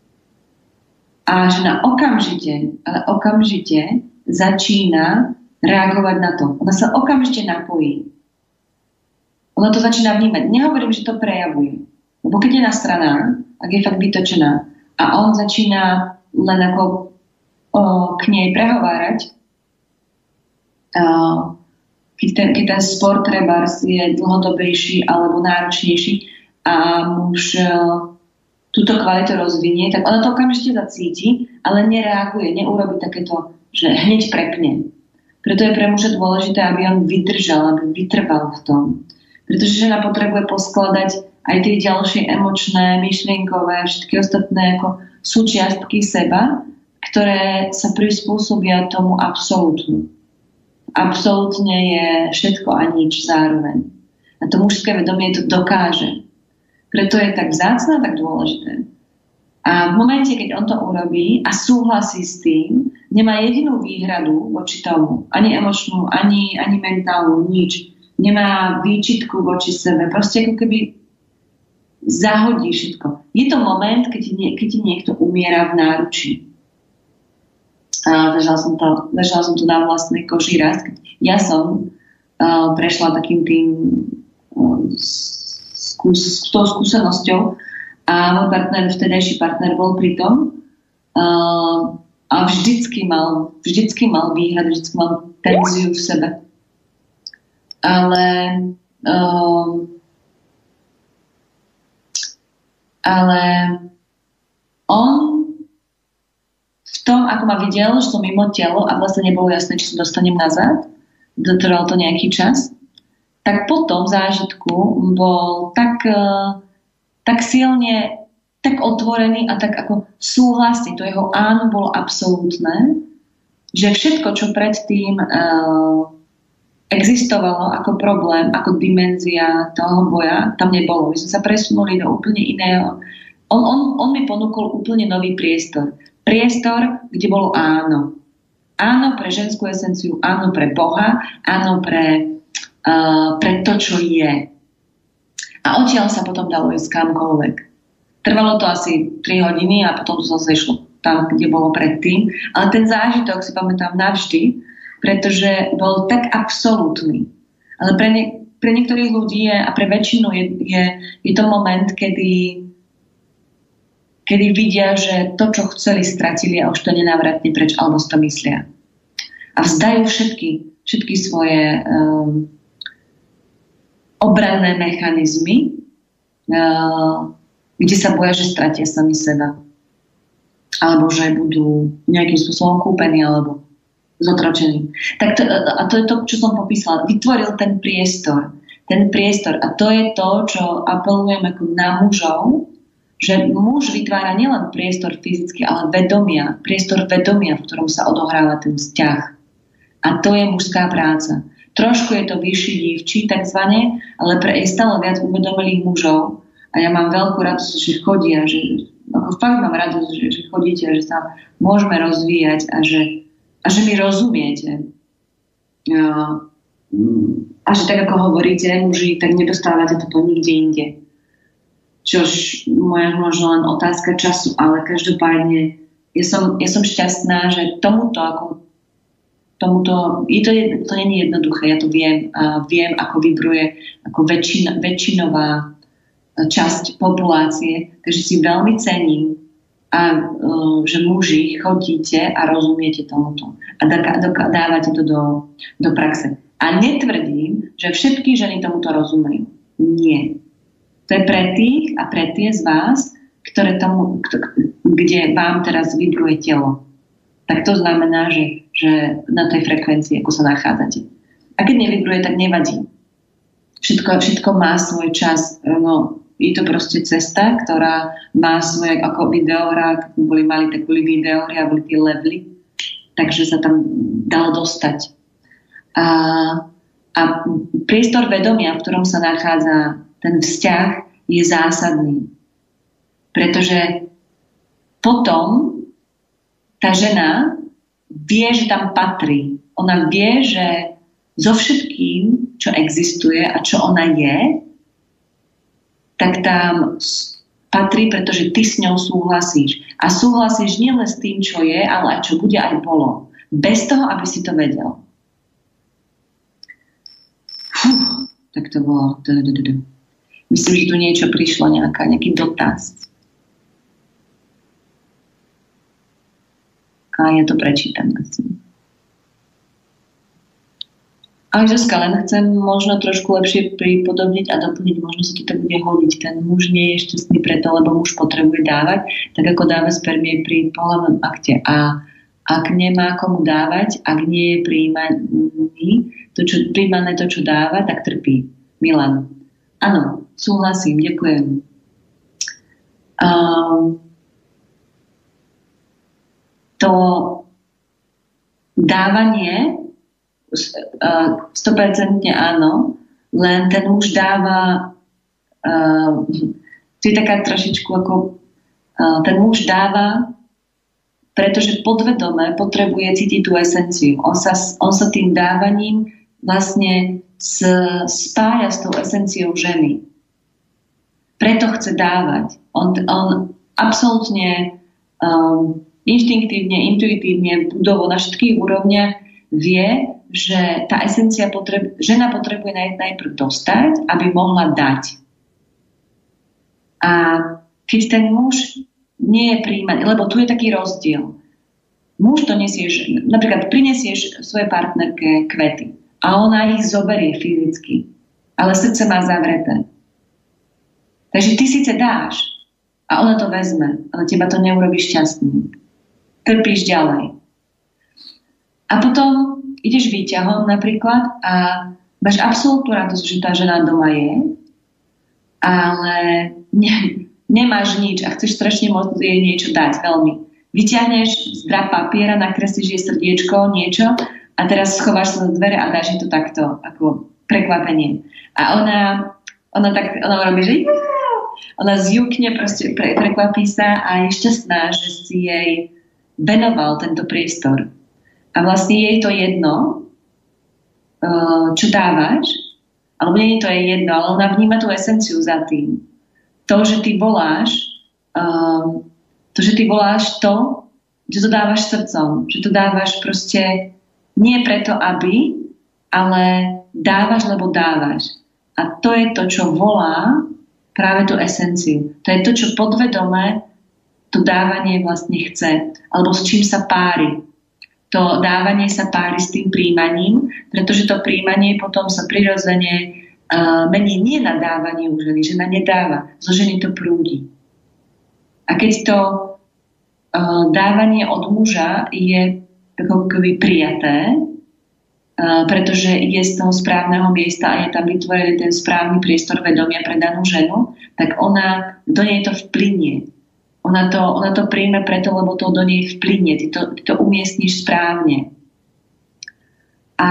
A žena okamžite začína reagovať na to. Ona sa okamžite napojí. Ona to začína vnímať. Nehovorím, že to prejavuje. Lebo keď je nasraná, ak je fakt vytočená a on začína len ako k nej prehovárať, keď ten spor trebárs je dlhodobejší alebo náročnejší a muž túto kvalitu rozvinie, tak ona to okamžite zacíti, ale nereaguje, neurobí takéto, že hneď prepne. Preto je pre muža dôležité, aby on vydržal, aby vytrval v tom. Pretože žena potrebuje poskladať aj tie ďalšie emočné, myšlienkové, všetky ostatné ako súčiastky seba, ktoré sa prispôsobia tomu absolútnu. Absolútne je všetko a nič zároveň. A to mužské vedomie to dokáže. Preto je tak vzácne a tak dôležité. A v momente, keď on to urobí a súhlasí s tým, nemá jedinú výhradu voči tomu, ani emočnú, ani mentálnu, nič. Nemá výčitku voči sebe. Proste ako keby zahodí všetko. Je to moment, keď ti niekto umiera v náručí. A zažila som to na vlastnej koži raz. Ja som prešla takým tým s tou skúsenosťou a môj vtedajší partner bol pri tom a vždycky mal výhrady, vždycky mal tenziu v sebe. Ale on v tom, ako ma videl, že som mimo telo a vlastne nebolo jasné, či sa dostanem nazad, dotrval to nejaký čas, tak po tom zážitku bol tak silne, tak otvorený a tak ako súhlasný. To jeho áno bolo absolútne, že všetko, čo predtým existovalo ako problém, ako dimenzia toho boja, tam nebolo. My sme sa presunuli do úplne iného. On mi ponúkol úplne nový priestor. Priestor, kde bolo áno. Áno pre ženskú esenciu, áno pre Boha, áno pre to, čo je. A odtiaľ sa potom dalo ísť kamkoľvek. Trvalo to asi 3 hodiny a potom to zase išlo tam, kde bolo predtým. Ale ten zážitok si pamätám navždy, pretože bol tak absolútny. Ale pre niektorých ľudí a pre väčšinu je to moment, kedy vidia, že to, čo chceli, stratili a už to nenávratne preč, alebo si to myslia. A vzdajú všetky svoje obranné mechanizmy, kde sa boja, že stratia sami seba. Alebo že budú nejakým spôsobom kúpení, alebo zotročení. A to je to, čo som popísala. Vytvoril ten priestor. A to je to, čo apelujem ako na mužov, že muž vytvára nielen priestor fyzicky, ale priestor vedomia, v ktorom sa odohráva ten vzťah. A to je mužská práca. Trošku je to vyšší dívčí, takzvané, ale je stále viac uvedomelých mužov. A ja mám veľkú radosť, že chodia, fakt mám radosť, že chodíte, že sa môžeme rozvíjať a že mi rozumiete. A že tak, ako hovoríte, muži, tak nedostávate toto nikde inde. Čož moja možno len otázka času, ale každopádne ja som šťastná, že tomuto to nie je jednoduché, ja to viem a viem, ako vibruje ako väčšinová časť populácie, takže si veľmi cením a že muži chodíte a rozumiete tomuto a dávate to do praxe. A netvrdím, že všetky ženy tomuto rozumejú. Nie. To je pre tých a pre tie z vás, kde vám teraz vibruje telo. Tak to znamená, že na tej frekvencii, ako sa nachádzate. A keď nevibruje, tak nevadí. Všetko má svoj čas. Je to proste cesta, ktorá má svoje ako videohra, mali videohry a boli tie levely, takže sa tam dalo dostať. A priestor vedomia, v ktorom sa nachádza ten vzťah, je zásadný. Pretože potom tá žena vie, že tam patrí. Ona vie, že so všetkým, čo existuje a čo ona je, tak tam patrí, pretože ty s ňou súhlasíš. A súhlasíš nielen s tým, čo je, ale aj čo bude, aj bolo. Bez toho, aby si to vedel. Tak to bolo. Myslím, že tu niečo prišlo, nejaký dotaz. A ja to prečítam asi. Ale Zuzka, len chcem možno trošku lepšie pripodobniť a doplniť, možno sa to tak bude hodiť. Ten muž nie je šťastný preto, lebo muž potrebuje dávať, tak ako dáva spermie pri pohlavnom akte. A ak nemá komu dávať, ak nie je príjmané to, čo dáva, tak trpí. Milan. Áno, súhlasím, ďakujem. To dávanie 100% áno, len ten muž dáva to je taká trošičku ako ten muž dáva, pretože podvedome potrebuje cítiť tú esenciu. On sa tým dávaním vlastne spája s tou esenciou ženy. Preto chce dávať. On absolútne inštinktívne, intuitívne, budovo na všetkých úrovniach vie, že tá esencia žena potrebuje najprv dostať, aby mohla dať. A keď ten muž nie je príjmaný, lebo tu je taký rozdiel. Muž to nesieš, napríklad prinesieš svojej partnerke kvety a ona ich zoberie fyzicky, ale srdce má zavreté. Takže ty síce dáš a ona to vezme, ale teba to neurobí šťastný. Trpíš ďalej. A potom ideš výťahom napríklad a máš absolútnu radosť, že tá žena doma je, ale nemáš nič a chceš strašne moc jej niečo dať veľmi. Vyťahneš z drap papiera, nakreslíš jej srdiečko, niečo a teraz schováš sa do dvere a dáš jej to takto, ako prekvapenie. A ona robí, že ona zjúkne, proste prekvapí sa a je šťastná, že si jej venoval tento priestor. A vlastne jej to jedno, čo dávaš, alebo nie je to jej jedno, ale ona vníma tú esenciu za tým. To, že ty voláš, to, že to dávaš srdcom, že to dávaš proste nie preto, aby, ale dávaš, lebo dávaš. A to je to, čo volá práve tú esenciu. To je to, čo podvedome to dávanie vlastne chce, alebo s čím sa pári. To dávanie sa pári s tým príjmaním, pretože to príjmanie potom sa prirodzene mení nie na dávanie u ženy. Žena nedáva, zo ženy to prúdi. A keď to dávanie od muža je takový prijaté, pretože je z toho správneho miesta a je tam vytvorený ten správny priestor vedomia pre danú ženu, tak ona do nej to vplynie. Ona to príjme preto, lebo to do nej vplynie. Ty to umiestniš správne. A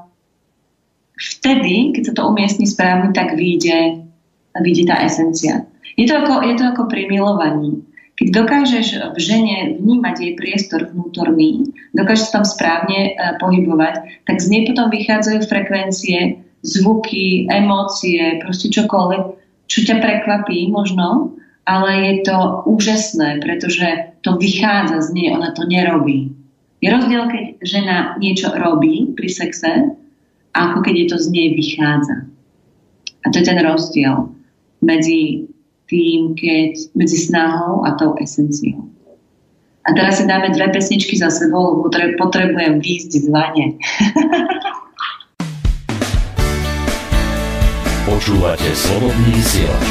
vtedy, keď sa to umiestni správne, tak vyjde tá esencia. Je to ako pri milovaní. Keď dokážeš v žene vnímať jej priestor vnútorný, dokážeš sa tam správne pohybovať, tak z nej potom vychádzajú frekvencie, zvuky, emócie, proste čokoľvek, čo ťa prekvapí možno, ale je to úžasné, pretože to vychádza z nej, ona to nerobí. Je rozdiel, keď žena niečo robí pri sexe, ako keď je to z nej vychádza. A to je ten rozdiel medzi medzi snahou a tou esenciou. A teraz si dáme 2 pesničky za sebou, lebo potrebujem výjsť z vane. Počúvate Slobodný vysielač.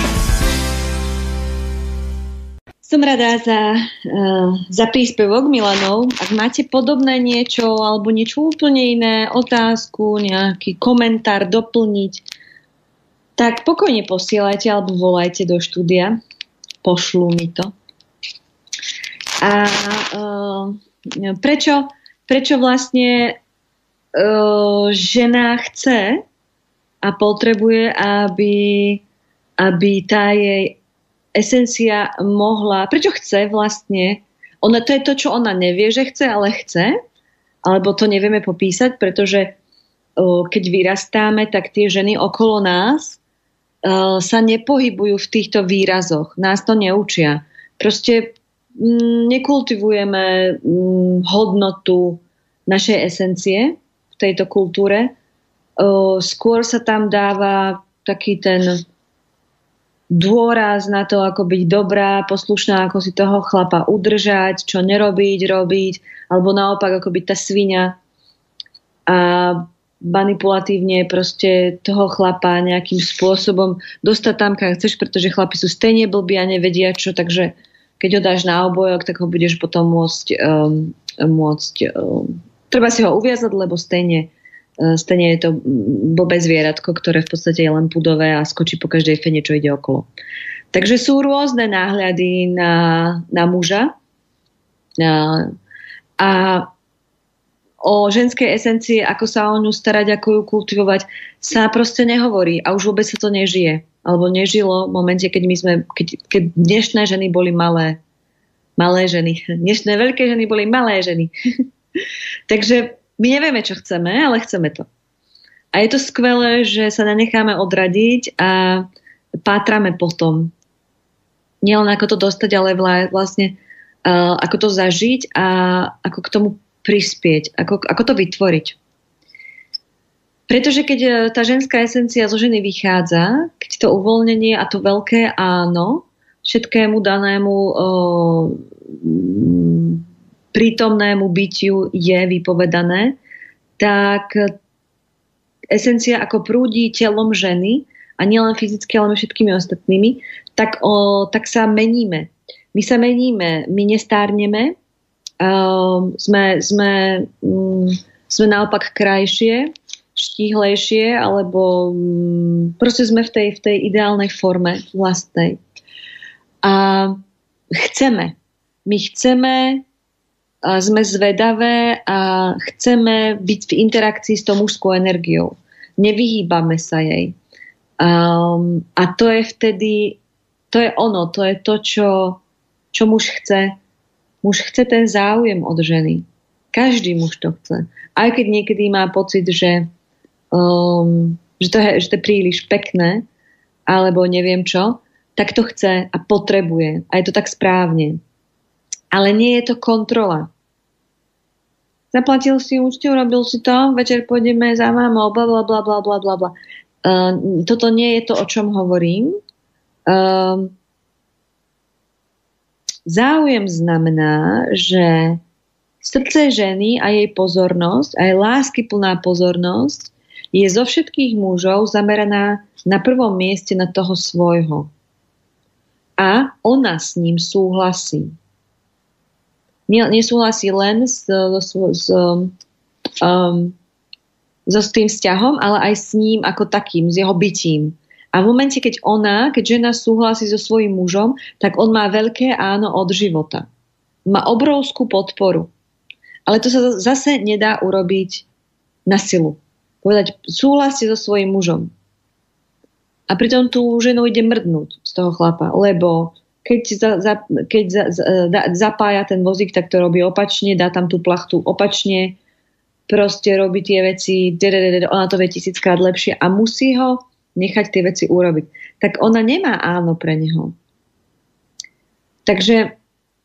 Som rada za príspevok Milanov. Ak máte podobné niečo alebo niečo úplne iné, otázku, nejaký komentár doplniť, tak pokojne posielajte alebo volajte do štúdia. Pošlú mi to. A prečo vlastne žena chce a potrebuje, aby tá jej esencia mohla... Prečo chce vlastne? To je to, čo ona nevie, že chce, ale chce. Alebo to nevieme popísať, pretože keď vyrastáme, tak tie ženy okolo nás sa nepohybujú v týchto výrazoch. Nás to neučia. Proste nekultivujeme hodnotu našej esencie v tejto kultúre. Skôr sa tam dáva taký ten dôraz na to, ako byť dobrá, poslušná, ako si toho chlapa udržať, čo robiť, alebo naopak, ako byť tá sviňa a manipulatívne proste toho chlapa nejakým spôsobom dostať tam, kam chceš, pretože chlapi sú stejne blbí a nevedia čo, takže keď ho dáš na obojok, tak ho budeš potom môcť treba si ho uviazať, lebo stejne je to blbé zvieratko, ktoré v podstate je len pudové a skočí po každej fene, čo ide okolo. Takže sú rôzne náhľady na muža a o keď esencii, ako sa o ňu starať, ako ju kultivovať, sa proste nehovorí a už vôbec sa to nežije. Alebo nežilo v momente, keď dnešné ženy boli malé ženy. Dnešné veľké ženy boli malé ženy. Takže my nevieme, čo chceme, ale chceme to. A je to skvelé, že sa nenecháme odradiť a pátrame po tom. Nielen ako to dostať, ale vlastne ako to zažiť a ako k tomu prispieť, ako to vytvoriť. Pretože keď tá ženská esencia zo ženy vychádza, keď to uvoľnenie a to veľké áno všetkému danému prítomnému bytiu je vypovedané, tak esencia ako prúdi telom ženy a nielen fyzicky, ale všetkými ostatnými, tak sa meníme. My sa meníme, my nestárneme, sme naopak krajšie, štíhlejšie, alebo proste sme v tej ideálnej forme vlastnej. A my chceme, sme zvedavé a chceme byť v interakcii s tou mužskou energiou. Nevyhýbame sa jej. A to je vtedy, to je ono, to je to, čo muž chce. Muž chce ten záujem od ženy. Každý muž to chce. Aj keď niekedy má pocit, že to je príliš pekné, alebo neviem čo, tak to chce a potrebuje. A je to tak správne. Ale nie je to kontrola. Zaplatil si účtu, robil si to, večer pôjdeme za mamou, bla bla bla bla bla bla. Toto nie je to, o čom hovorím. Záujem znamená, že srdce ženy a jej pozornosť, aj láskyplná pozornosť je zo všetkých mužov zameraná na prvom mieste na toho svojho. A ona s ním súhlasí. Nesúhlasí len so tým vzťahom, ale aj s ním ako takým, s jeho bytím. A v momente, keď žena súhlasí so svojím mužom, tak on má veľké áno od života. Má obrovskú podporu. Ale to sa zase nedá urobiť na silu. Povedať, súhlasí so svojím mužom. A pritom tú ženu ide mrdnúť z toho chlapa, lebo keď zapája ten vozík, tak to robí opačne, dá tam tú plachtu opačne, proste robí tie veci, ona to vie 1000-krát lepšie a musí ho nechať tie veci urobiť. Tak ona nemá áno pre neho. Takže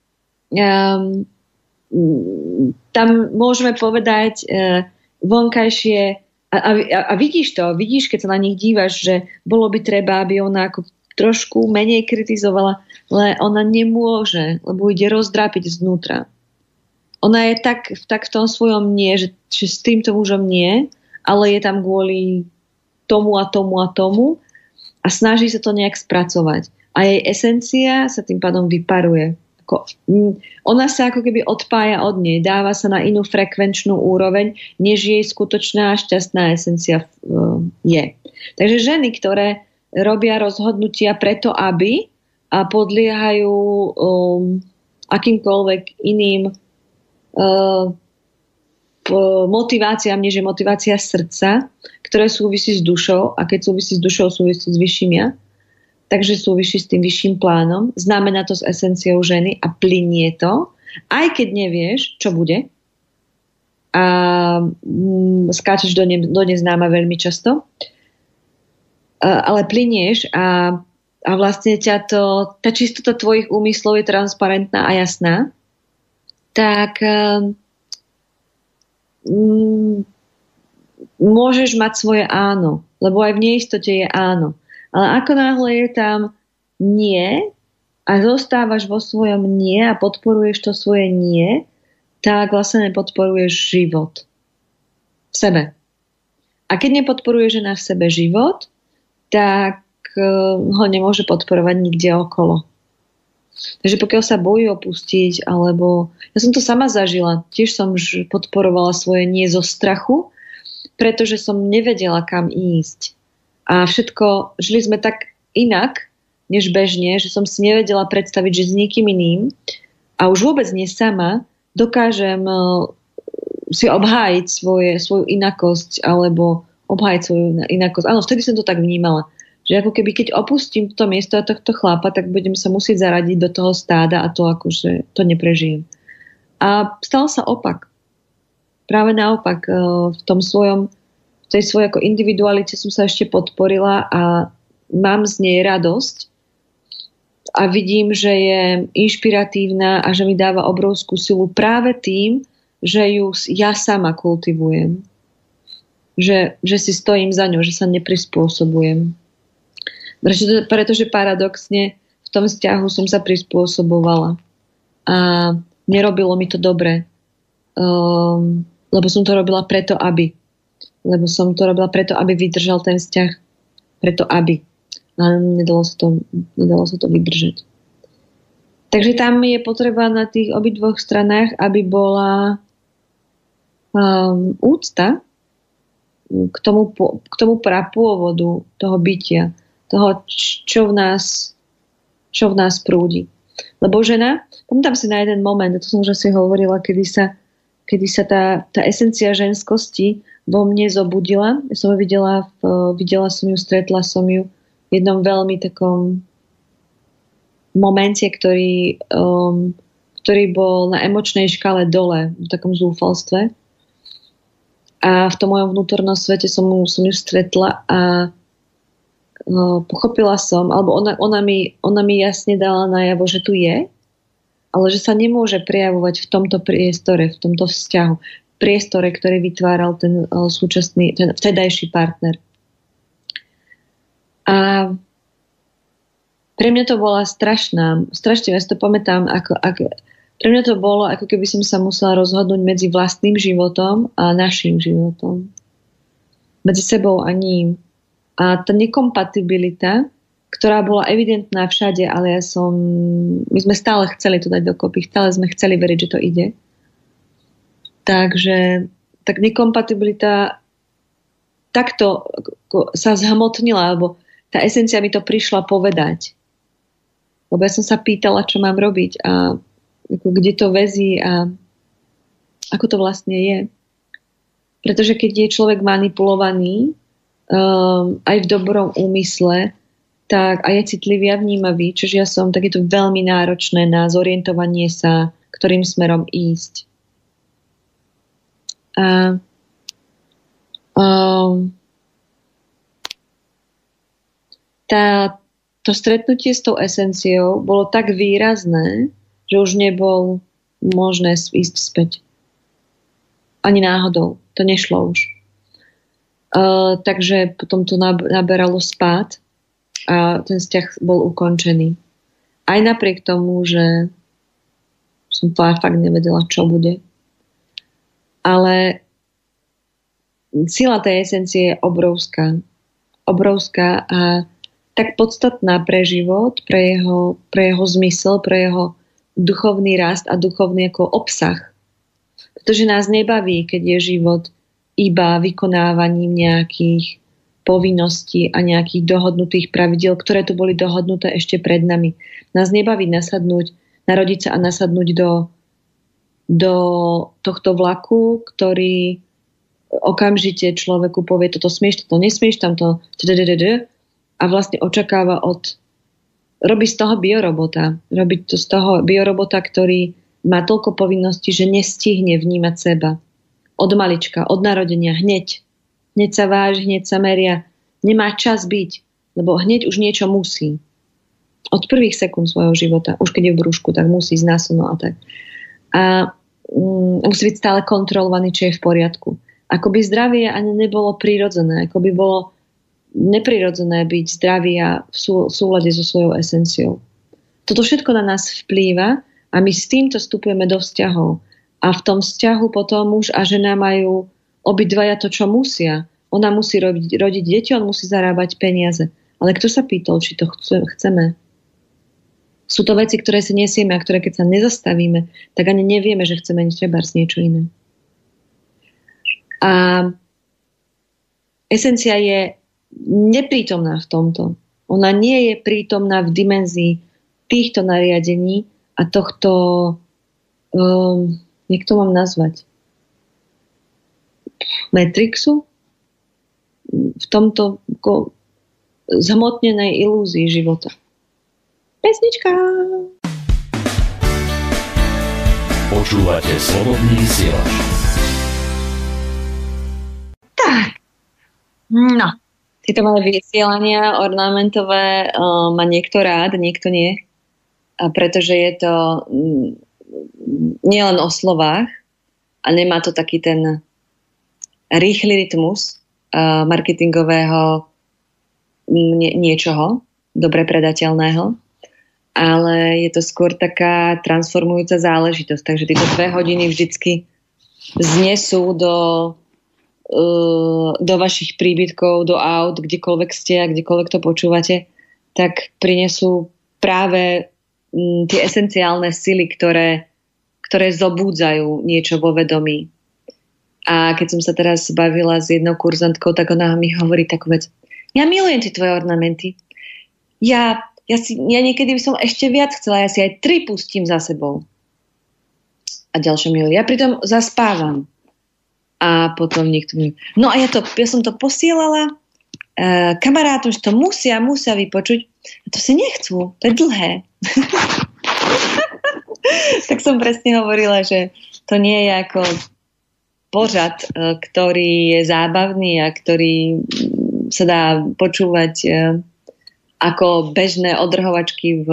tam môžeme povedať vonkajšie a vidíš to, keď sa na nich dívaš, že bolo by treba, aby ona ako trošku menej kritizovala, ale ona nemôže, lebo ide rozdrápiť znútra. Ona je tak v tom svojom nie, že s týmto mužom nie, ale je tam kvôli tomu a tomu a tomu a snaží sa to nejak spracovať. A jej esencia sa tým pádom vyparuje. Ona sa ako keby odpája od nej, dáva sa na inú frekvenčnú úroveň, než jej skutočná šťastná esencia je. Takže ženy, ktoré robia rozhodnutia preto, aby a podliehajú akýmkoľvek iným motiváciám, než je motivácia srdca, ktoré súvisí s dušou a keď súvisí s dušou, súvisí s vyšším ja, takže súvisí s tým vyšším plánom, znamená to s esenciou ženy a plynie to, aj keď nevieš, čo bude a skáčeš do neznáma veľmi často, ale plynieš a vlastne tá čistota tvojich úmyslov je transparentná a jasná, tak môžeš mať svoje áno, lebo aj v neistote je áno. Ale ako náhle je tam nie a zostávaš vo svojom nie a podporuješ to svoje nie, tak vlastne nepodporuješ život v sebe. A keď nepodporuje žena v sebe život, tak ho nemôže podporovať nikde okolo. Takže pokiaľ sa bojí opustiť, alebo ja som to sama zažila, tiež som podporovala svoje nie zo strachu, pretože som nevedela, kam ísť. A všetko, žili sme tak inak, než bežne, že som si nevedela predstaviť, že s niekým iným a už vôbec nie sama dokážem si obhájiť svoju inakosť alebo obhájiť svoju inakosť. Áno, vtedy som to tak vnímala. Že ako keby, keď opustím to miesto a tohto chlapa, tak budem sa musieť zaradiť do toho stáda a to akože to neprežijem. A stal sa opak. Práve naopak, v tej svojej ako individualite som sa ešte podporila a mám z nej radosť a vidím, že je inšpiratívna a že mi dáva obrovskú silu práve tým, že ju ja sama kultivujem. Že si stojím za ňou, že sa neprispôsobujem. Pretože paradoxne v tom vzťahu som sa prispôsobovala. A nerobilo mi to dobre. Lebo som to robila preto, aby. Lebo som to robila preto, aby vydržal ten vzťah. Preto, aby. A nedalo sa to vydržať. Takže tam je potreba na tých obidvoch stranách, aby bola úcta k tomu prapôvodu toho bytia, toho, čo v nás prúdi. Lebo žena, pamätám si na jeden moment, to som už asi hovorila, kedy sa tá esencia ženskosti vo mne zobudila. Ja som ju videla som ju, stretla som ju v jednom veľmi takom momente, ktorý bol na emočnej škále dole, v takom zúfalstve. A v tom mojom vnútornom svete som ju stretla a pochopila som, alebo ona mi jasne dala najavo, že tu je, ale že sa nemôže prejavovať v tomto priestore, v tomto vzťahu. Priestore, ktorý vytváral ten súčasný, ten vtedajší partner. A pre mňa to bola strašne, ja si to pamätám, pre mňa to bolo, ako keby som sa musela rozhodnúť medzi vlastným životom a našim životom. Medzi sebou a ním. A tá nekompatibilita, ktorá bola evidentná všade, ale my sme stále chceli to dať dokopy, stále sme chceli veriť, že to ide. Takže tak nekompatibilita takto sa zhmotnila, alebo tá esencia mi to prišla povedať. Lebo ja som sa pýtala, čo mám robiť a kde to väzí a ako to vlastne je. Pretože keď je človek manipulovaný aj v dobrom úmysle, tak aj je citlivý a vnímavý, čiže ja som, tak je to veľmi náročné na zorientovanie sa, ktorým smerom ísť. A to stretnutie s tou esenciou bolo tak výrazné, že už nebol možné ísť späť. Ani náhodou. To nešlo už. Takže potom to naberalo spád a ten vzťah bol ukončený. Aj napriek tomu, že som fakt nevedela, čo bude. Ale sila tej esencie je obrovská. Obrovská a tak podstatná pre život, pre jeho zmysel, pre jeho duchovný rast a duchovný ako obsah. Pretože nás nebaví, keď je život iba vykonávaním nejakých povinností a nejakých dohodnutých pravidiel, ktoré tu boli dohodnuté ešte pred nami. Nás nebaví narodiť sa a nasadnúť do tohto vlaku, ktorý okamžite človeku povie, toto smieš, toto nesmieš, tamto a vlastne očakáva robí z toho biorobota. Robí to z toho biorobota, ktorý má toľko povinností, že nestihne vnímať seba. Od malička, od narodenia, hneď. Hneď sa váži, hneď sa meria. Nemá čas byť, lebo hneď už niečo musí. Od prvých sekúnd svojho života, už keď je v brúšku, tak musí ísť násilno a tak. A musí byť stále kontrolovaný, či je v poriadku. Ako by zdravie ani nebolo prirodzené, ako by bolo neprirodzené byť zdravý a v súlade so svojou esenciou. Toto všetko na nás vplýva a my s týmto vstupujeme do vzťahov. A v tom vzťahu potom muž a žena majú obidvaja to, čo musia. Ona musí rodiť deti, on musí zarábať peniaze. Ale kto sa pýtal, či to chceme? Sú to veci, ktoré si nesieme a ktoré keď sa nezastavíme, tak ani nevieme, že chceme trebárs niečo iné. A esencia je neprítomná v tomto. Ona nie je prítomná v dimenzii týchto nariadení a tohto, jak to mám nazvať, matrixu, v tomto zhmotnenej ilúzii života. Pesnička! Počúvate Slobodný vysielač. Tak, no. Tieto malé vysielania ornamentové má niekto rád, niekto nie. A pretože je to nielen o slovách a nemá to taký ten rýchly rytmus marketingového niečoho, dobre predateľného, ale je to skôr taká transformujúca záležitosť. Takže tieto 2 hodiny vždycky znesú do vašich príbytkov, do aut, kdekoľvek ste a kdekoľvek to počúvate, tak prinesú práve tie esenciálne sily, ktoré zobúdzajú niečo vo vedomí. A keď som sa teraz bavila s jednou kurzantkou, tak ona mi hovorí takú vec. Ja milujem tie tvoje ornamenty. Ja niekedy by som ešte viac chcela, ja si aj 3 pustím za sebou. A ďalšie mi hovorí, ja pritom zaspávam. A potom niekto mi... No a ja som to posielala kamarátom, že to musia vypočuť. A to si nechcú, to je dlhé. Tak som presne hovorila, že to nie je ako pořad, ktorý je zábavný a ktorý sa dá počúvať ako bežné odrhovačky v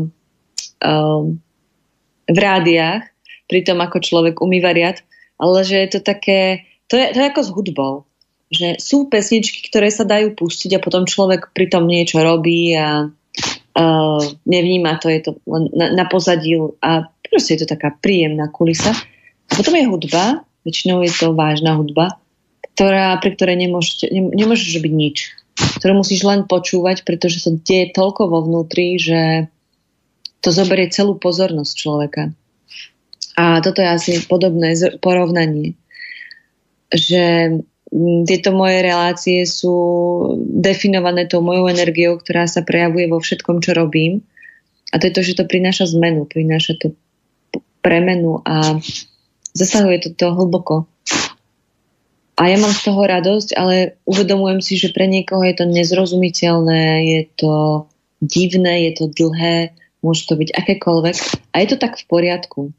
rádiách, pritom ako človek umýva riad, ale že je to také, to je ako s hudbou, že sú pesničky, ktoré sa dajú pustiť a potom človek pritom niečo robí a nevníma to, je to na pozadí a proste je to taká príjemná kulisa. A potom je hudba, väčšinou je to vážna hudba, pri ktorej nemôžeš robiť nič. Ktorú musíš len počúvať, pretože sa deje toľko vo vnútri, že to zoberie celú pozornosť človeka. A toto je asi podobné porovnanie. Že tieto moje relácie sú definované tou mojou energiou, ktorá sa prejavuje vo všetkom, čo robím. A to je to, že to prináša zmenu, prináša to premenu a zasahuje to hlboko. A ja mám z toho radosť, ale uvedomujem si, že pre niekoho je to nezrozumiteľné, je to divné, je to dlhé, môže to byť akékoľvek. A je to tak v poriadku.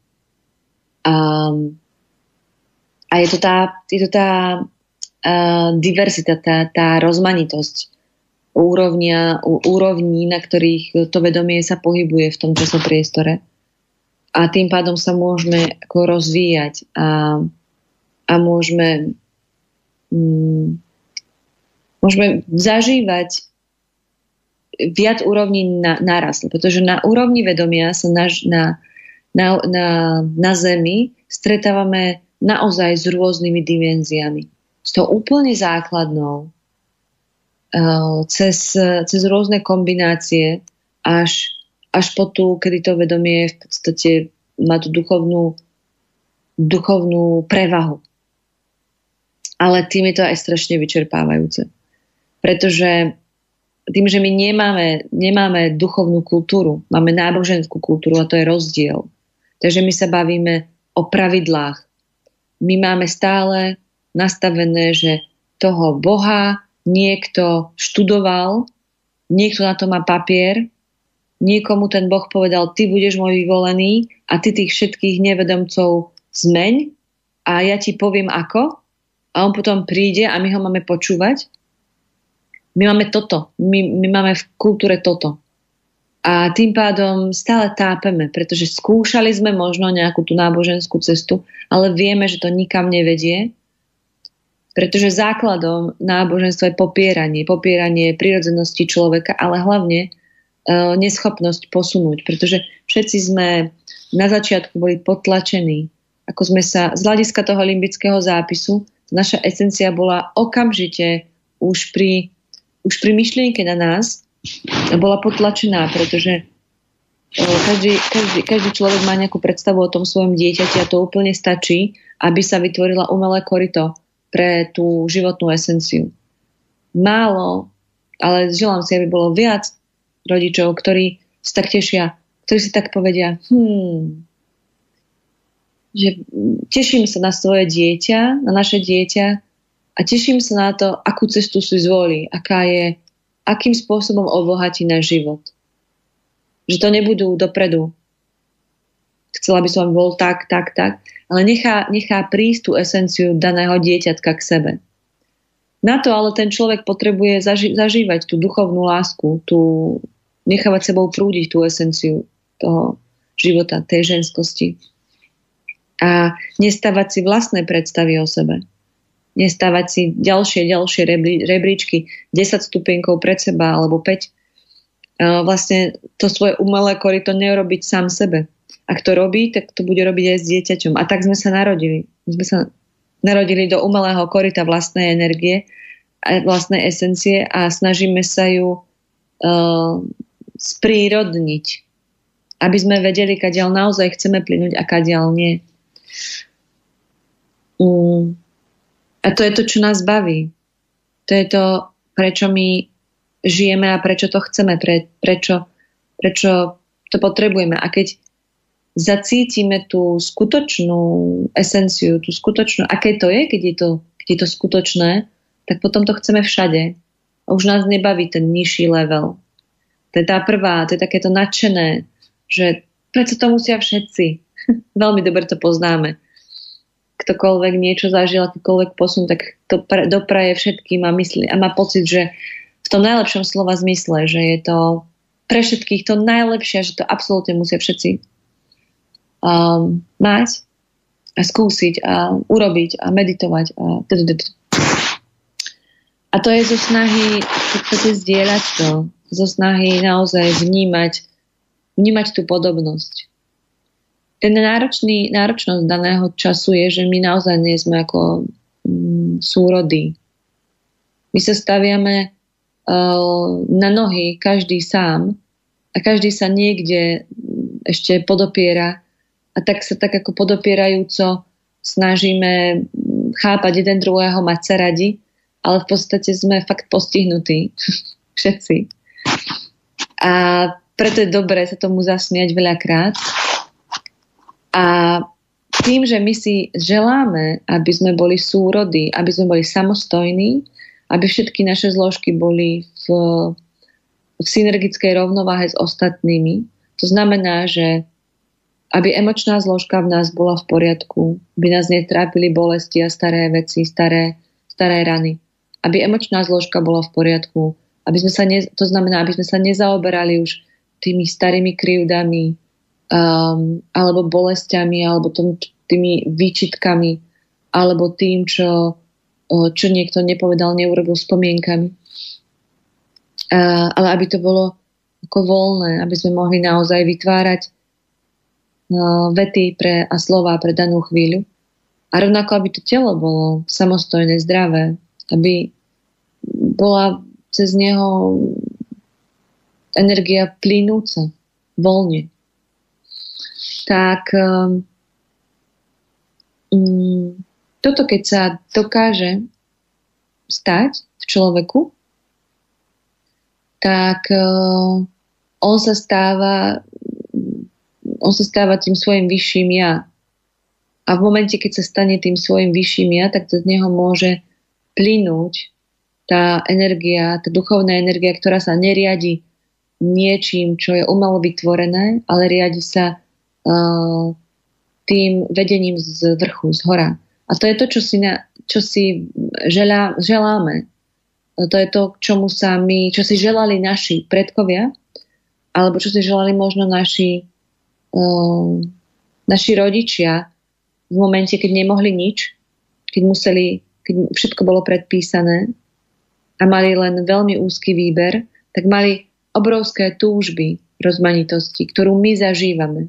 A je to tá diverzita, tá rozmanitosť úrovní, na ktorých to vedomie sa pohybuje v tom časopriestore. A tým pádom sa môžeme ako rozvíjať a môžeme zažívať viac úrovní naraz. Pretože na úrovni vedomia sa na Zemi stretávame naozaj s rôznymi dimenziami. S tou úplne základnou cez rôzne kombinácie až po tú, kedy to vedomie v podstate má tú duchovnú prevahu. Ale tým je to aj strašne vyčerpávajúce. Pretože tým, že my nemáme duchovnú kultúru, máme náboženskú kultúru a to je rozdiel. Takže my sa bavíme o pravidlách. My máme stále nastavené, že toho Boha niekto študoval, niekto na to má papier, niekomu ten Boh povedal, ty budeš môj vyvolený a ty tých všetkých nevedomcov zmeň a ja ti poviem ako. A on potom príde a my ho máme počúvať. My máme toto. My máme v kultúre toto. A tým pádom stále tápeme, pretože skúšali sme možno nejakú tú náboženskú cestu, ale vieme, že to nikam nevedie. Pretože základom náboženstva je popieranie prirodzenosti človeka, ale hlavne neschopnosť posunúť, pretože všetci sme na začiatku boli potlačení. Ako sme sa z hľadiska toho limbického zápisu, naša esencia bola okamžite už pri myšlienke na nás bola potlačená, pretože každý človek má nejakú predstavu o tom svojom dieťati a to úplne stačí, aby sa vytvorila umelé koryto pre tú životnú esenciu. Málo, ale želám si, aby bolo viac rodičov, ktorí si tak tešia, ktorí si tak povedia, že teším sa na svoje dieťa, na naše dieťa a teším sa na to, akú cestu si zvolí, akým spôsobom obohatí náš život. Že to nebudú dopredu. Chcela by som, aby bol tak, ale nechá prísť tú esenciu daného dieťatka k sebe. Na to ale ten človek potrebuje zažívať tú duchovnú lásku, nechávať sebou prúdiť tú esenciu toho života, tej ženskosti. A nestávať si vlastné predstavy o sebe. Nestávať si ďalšie rebríčky, 10 stupienkov pred seba alebo 5. Vlastne to svoje umelé koryto neurobiť sám sebe. Ak to robí, tak to bude robiť aj s dieťaťom. A tak sme sa narodili. My sme sa narodili do umelého koryta vlastnej energie, vlastnej esencie a snažíme sa ju sprírodniť, aby sme vedeli, kadiaľ naozaj chceme plynúť a kadiaľ nie. A to je to, čo nás baví. To je to, prečo my žijeme a prečo to chceme, prečo to potrebujeme. A keď zacítime tú skutočnú esenciu, tú skutočnú, aké to je, keď je to skutočné, tak potom to chceme všade. A už nás nebaví ten nižší level. To je tá prvá, to je takéto nadšené, že prečo to musia všetci. Veľmi dobre to poznáme. Ktokoľvek niečo zažil, akýkoľvek posun, tak to dopraje všetkým a myslí a má pocit, že v tom najlepšom slova zmysle, že je to pre všetkých to najlepšie, že to absolútne musia všetci mať a skúsiť a urobiť a meditovať a to je zo snahy zdieľať to, zo snahy naozaj vnímať tú podobnosť. Ten náročnosť daného času je, že my naozaj nie sme ako súrodí. My sa staviame na nohy, každý sám a každý sa niekde ešte podopiera a tak sa tak ako podopierajúco snažíme chápať jeden druhého, mať sa radi, ale v podstate sme fakt postihnutí všetci. A preto je dobré sa tomu zasmiať veľakrát. A tým, že my si želáme, aby sme boli súrody, aby sme boli samostojní, aby všetky naše zložky boli v synergickej rovnováhe s ostatnými, to znamená, že aby emočná zložka v nás bola v poriadku, aby nás netrápili bolesti a staré veci, staré rany. Aby emočná zložka bola v poriadku, to znamená, aby sme sa nezaoberali už tými starými krivdami, alebo bolestiami, alebo tými výčitkami, alebo tým, čo niekto nepovedal, neurobil spomienkami. Ale aby to bolo ako voľné, aby sme mohli naozaj vytvárať vety a slova pre danú chvíľu. A rovnako, aby to telo bolo samostojné, zdravé, aby bola cez neho energia plynúca, voľne. Tak toto, keď sa dokáže stať v človeku, tak on sa stáva tým svojim vyšším ja. A v momente, keď sa stane tým svojim vyšším ja, tak z neho môže plynúť tá energia, tá duchovná energia, ktorá sa neriadi niečím, čo je umelo vytvorené, ale riadi sa tým vedením z vrchu, z hora. A to je to, čo si želáme. To je to, čo si želali naši predkovia, alebo čo si želali možno naši rodičia v momente, keď nemohli nič, keď keď všetko bolo predpísané a mali len veľmi úzky výber, tak mali obrovské túžby rozmanitosti, ktorú my zažívame.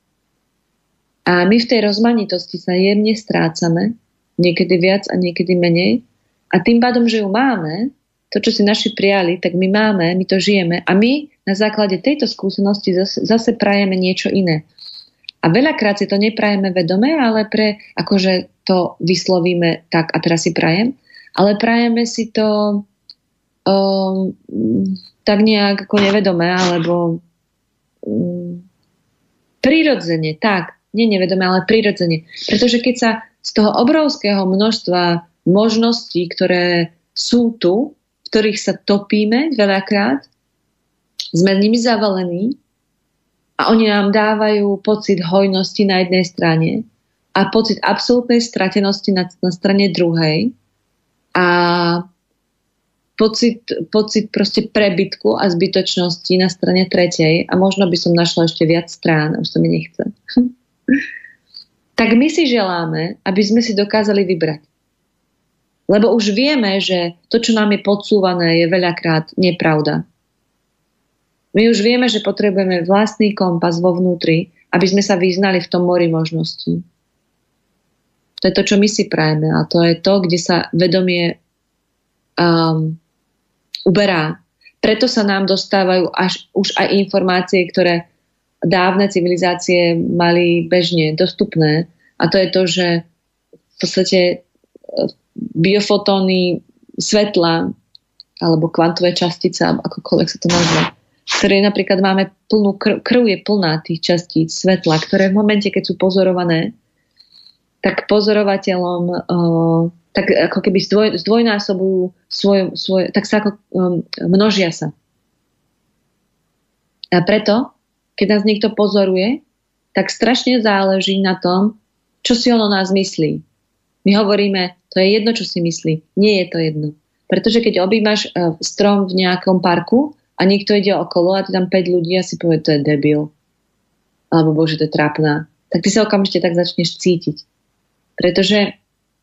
A my v tej rozmanitosti sa jemne strácame, niekedy viac a niekedy menej. A tým pádom, že ju máme, to, čo si naši prijali, tak my máme, my to žijeme a my na základe tejto skúsenosti zase prajeme niečo iné. A veľakrát si to neprajeme vedome, ale akože to vyslovíme tak a teraz si prajem, ale prajeme si to tak nejak ako nevedome, alebo prirodzene, tak, nie nevedome, ale prirodzene. Pretože keď sa z toho obrovského množstva možností, ktoré sú tu, v ktorých sa topíme veľakrát, sme nimi zavalení a oni nám dávajú pocit hojnosti na jednej strane a pocit absolútnej stratenosti na strane druhej a pocit proste prebytku a zbytočnosti na strane tretej a možno by som našla ešte viac strán, už to mi nechce. Tak my si želáme, aby sme si dokázali vybrať. Lebo už vieme, že to, čo nám je podsúvané, je veľakrát nepravda. My už vieme, že potrebujeme vlastný kompas vo vnútri, aby sme sa vyznali v tom mori možností. To je to, čo my si prajeme a to je to, kde sa vedomie uberá. Preto sa nám dostávajú už aj informácie, ktoré dávne civilizácie mali bežne dostupné. A to je to, že v podstate biofotóny svetla alebo kvantové častice, akokoľvek sa to nazve, ktoré napríklad máme plnú krv je plná tých častíc svetla, ktoré v momente, keď sú pozorované, tak pozorovateľom tak ako keby zdvojnásobujú svoje, tak sa ako množia sa. A preto, keď nás niekto pozoruje, tak strašne záleží na tom, čo si on o nás myslí. My hovoríme, to je jedno, čo si myslí. Nie je to jedno. Pretože keď objímaš strom v nejakom parku a niekto ide okolo a ty tam 5 ľudí a si povie, to je debil. Alebo bože, to je trápna. Tak ty sa okamžite tak začneš cítiť. Pretože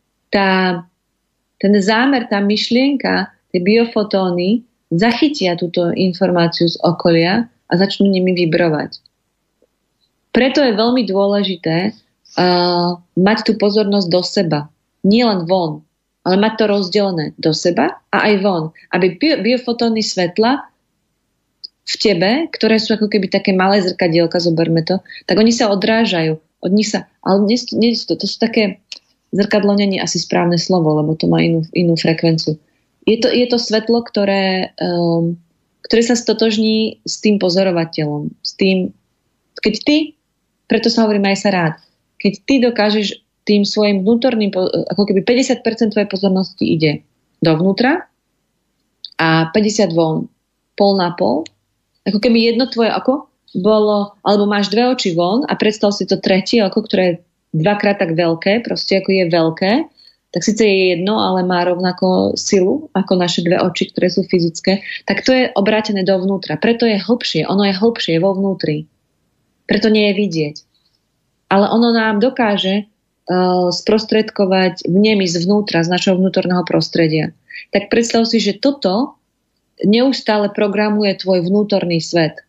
ten zámer, tá myšlienka, tie biofotóny zachytia túto informáciu z okolia a začnú nimi vibrovať. Preto je veľmi dôležité mať tú pozornosť do seba. Nie len von, ale mať to rozdelené do seba a aj von. Aby biofotóny svetla v tebe, ktoré sú ako keby také malé zrkadielka, zoberme to, tak oni sa odrážajú. Od nich sa, ale to sú také zrkadlo nie je asi správne slovo, lebo to má inú frekvenciu. Je to svetlo, ktoré sa stotožní s tým pozorovateľom. S tým, keď ty, preto sa hovorím aj sa rád, keď ty dokážeš tým svojim vnútorným, ako keby 50% tvojej pozornosti ide dovnútra a 50 von, pol na pol, ako keby jedno tvoje oko bolo, alebo máš 2 oči von a predstav si to tretie oko, ktoré je 2-krát tak veľké, proste ako je veľké, tak síce je jedno, ale má rovnako silu ako naše 2 oči, ktoré sú fyzické, tak to je obrátené dovnútra. Preto je hlbšie, ono je hlbšie vo vnútri. Preto nie je vidieť. Ale ono nám dokáže sprostredkovať vnemy zvnútra, z našho vnútorného prostredia. Tak predstav si, že toto neustále programuje tvoj vnútorný svet.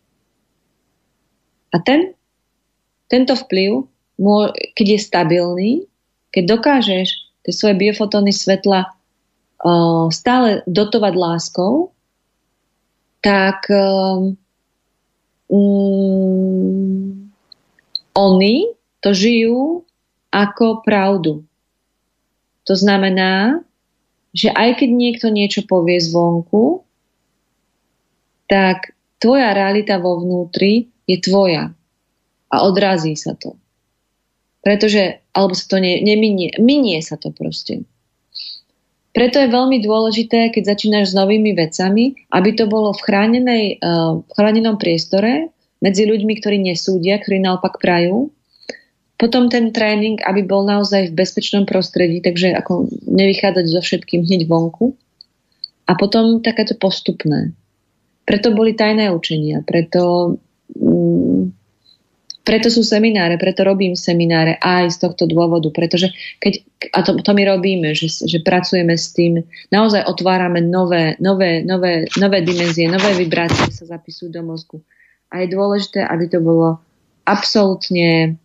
A tento vplyv, keď je stabilný, keď dokážeš tie svoje biofotóny svetla stále dotovať láskou, tak oni to žijú ako pravdu. To znamená, že aj keď niekto niečo povie zvonku, tak tvoja realita vo vnútri je tvoja a odrazí sa to. Pretože, alebo sa to minie sa to proste. Preto je veľmi dôležité, keď začínaš s novými vecami, aby to bolo v chránenom priestore medzi ľuďmi, ktorí nesúdia, ktorí naopak prajú. Potom ten tréning, aby bol naozaj v bezpečnom prostredí, takže ako nevychádzať so všetkým hneď vonku. A potom takéto postupné. Preto boli tajné učenia, preto Preto sú semináre, preto robím semináre aj z tohto dôvodu, pretože to my robíme, že pracujeme s tým, naozaj otvárame nové dimenzie, nové vibrácie sa zapisujú do mozgu. A je dôležité, aby to bolo absolútne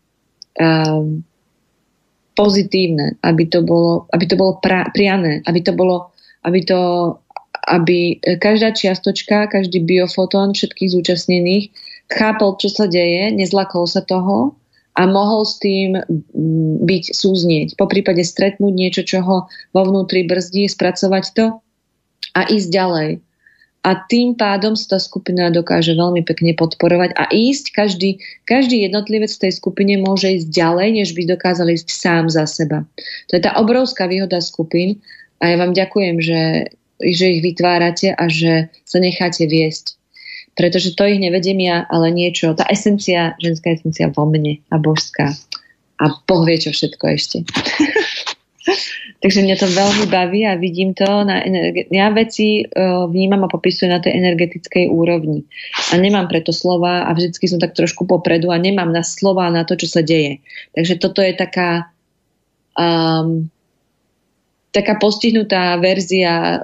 pozitívne, aby to bolo priané, aby každá čiastočka, každý biofotón všetkých zúčastnených chápal, čo sa deje, nezlakol sa toho a mohol s tým byť súznieť. Po prípade stretnúť niečo, čo ho vo vnútri brzdí, spracovať to a ísť ďalej. A tým pádom sa tá skupina dokáže veľmi pekne podporovať a ísť, každý jednotlivec v tej skupine môže ísť ďalej, než by dokázal ísť sám za seba. To je tá obrovská výhoda skupín a ja vám ďakujem, že ich vytvárate a že sa necháte viesť. Pretože to ich nevediem ja, ale niečo, tá esencia, ženská esencia vo mne a božská. A Boh vie, čo všetko ešte. Takže mňa to veľmi baví a vidím to. Ja veci vnímam a popisujem na tej energetickej úrovni. A nemám preto slova a vždycky som tak trošku popredu a nemám na slova na to, čo sa deje. Takže toto je taká postihnutá verzia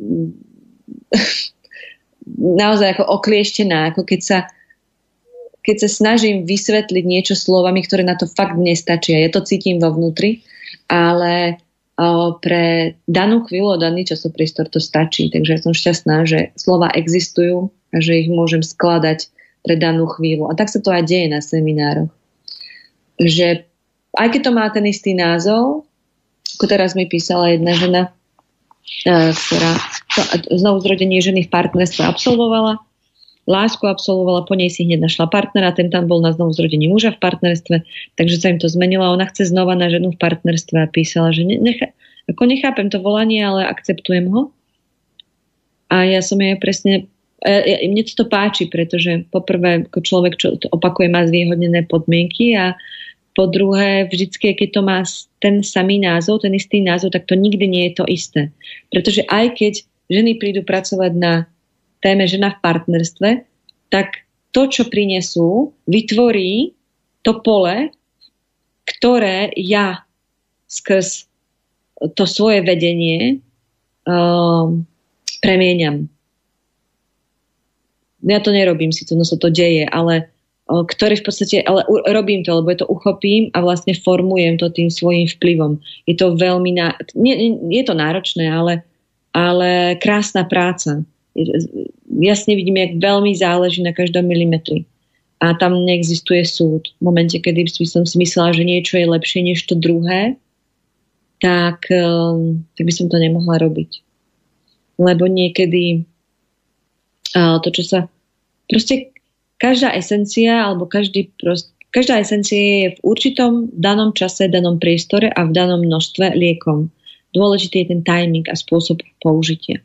naozaj ako oklieštená, ako keď sa snažím vysvetliť niečo slovami, ktoré na to fakt nestačia. Ja to cítim vo vnútri, ale pre danú chvíľu, daný časopriestor to stačí. Takže som šťastná, že slova existujú a že ich môžem skladať pre danú chvíľu. A tak sa to aj deje na seminároch. Že aj keď to má ten istý názov, ako teraz mi písala jedna žena, ktorá znovu zrodenie ženy v partnerstve absolvovala, lásku absolvovala, po nej si hneď našla partnera, ten tam bol na znovu zrodení muža v partnerstve, takže sa im to zmenilo a ona chce znova na ženu v partnerstve a písala, že nechápem to volanie, ale akceptujem ho. A ja som jej presne, mne to páči, pretože poprvé ako človek, čo to opakuje, má zvýhodnené podmienky a po druhé, vždycky, keď to má ten samý názov, ten istý názov, tak to nikdy nie je to isté. Pretože aj keď ženy prídu pracovať na téme žena v partnerstve, tak to, čo prinesú, vytvorí to pole, ktoré ja skrz to svoje vedenie premieňam. Ja to nerobím, síce no sa to deje, ale ktorý v podstate, ale robím to, lebo to uchopím a vlastne formujem to tým svojím vplyvom. Je to veľmi, je to náročné, ale krásna práca. Jasne vidím, jak veľmi záleží na každom milimetri. A tam neexistuje súd. V momente, kedy som si myslela, že niečo je lepšie než to druhé, tak by som to nemohla robiť. Lebo niekedy to, čo sa proste každá esencia alebo každá esencia je v určitom danom čase, danom priestore a v danom množstve liekom. Dôležitý je ten timing a spôsob použitia.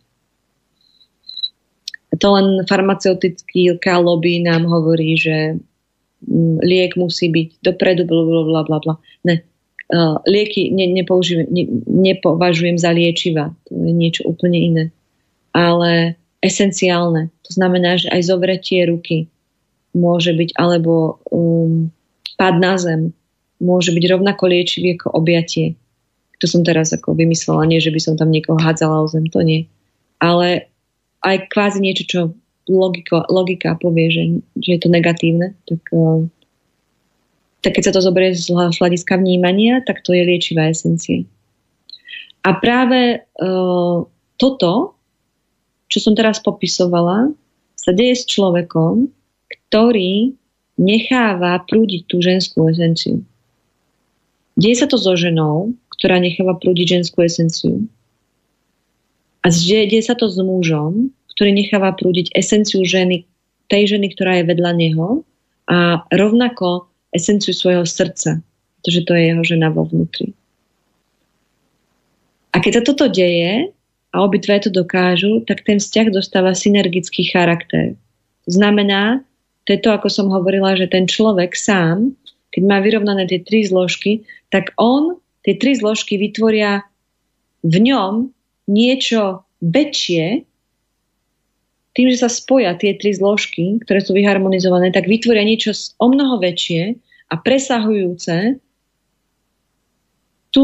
To len farmaceutická lobby nám hovorí, že liek musí byť dopredu, blablabla. Ne. Lieky nepovažujem za liečiva. To je niečo úplne iné. Ale esenciálne. To znamená, že aj zovretie ruky môže byť, alebo pád na zem môže byť rovnako liečivý ako objatie. To som teraz ako vymyslela, nie, že by som tam niekoho hádzala o zem, to nie. Ale aj kvázi niečo, čo logika povie, že je to negatívne, tak keď sa to zoberie z hľadiska vnímania, tak to je liečivá esencia. A práve toto, čo som teraz popisovala, sa deje s človekom, ktorý necháva prúdiť tú ženskú esenciu. Deje sa to so ženou, ktorá necháva prúdiť ženskú esenciu. A deje sa to s mužom, ktorý necháva prúdiť esenciu ženy, tej ženy, ktorá je vedľa neho a rovnako esenciu svojho srdca, pretože to je jeho žena vo vnútri. A keď sa toto deje a obidve to dokážu, tak ten vzťah dostáva synergický charakter. To znamená, to je to, ako som hovorila, že ten človek sám, keď má vyrovnané tie 3 zložky, tak on tie 3 zložky vytvoria v ňom niečo väčšie. Tým, že sa spoja tie 3 zložky, ktoré sú vyharmonizované, tak vytvoria niečo o mnoho väčšie, a presahujúce tú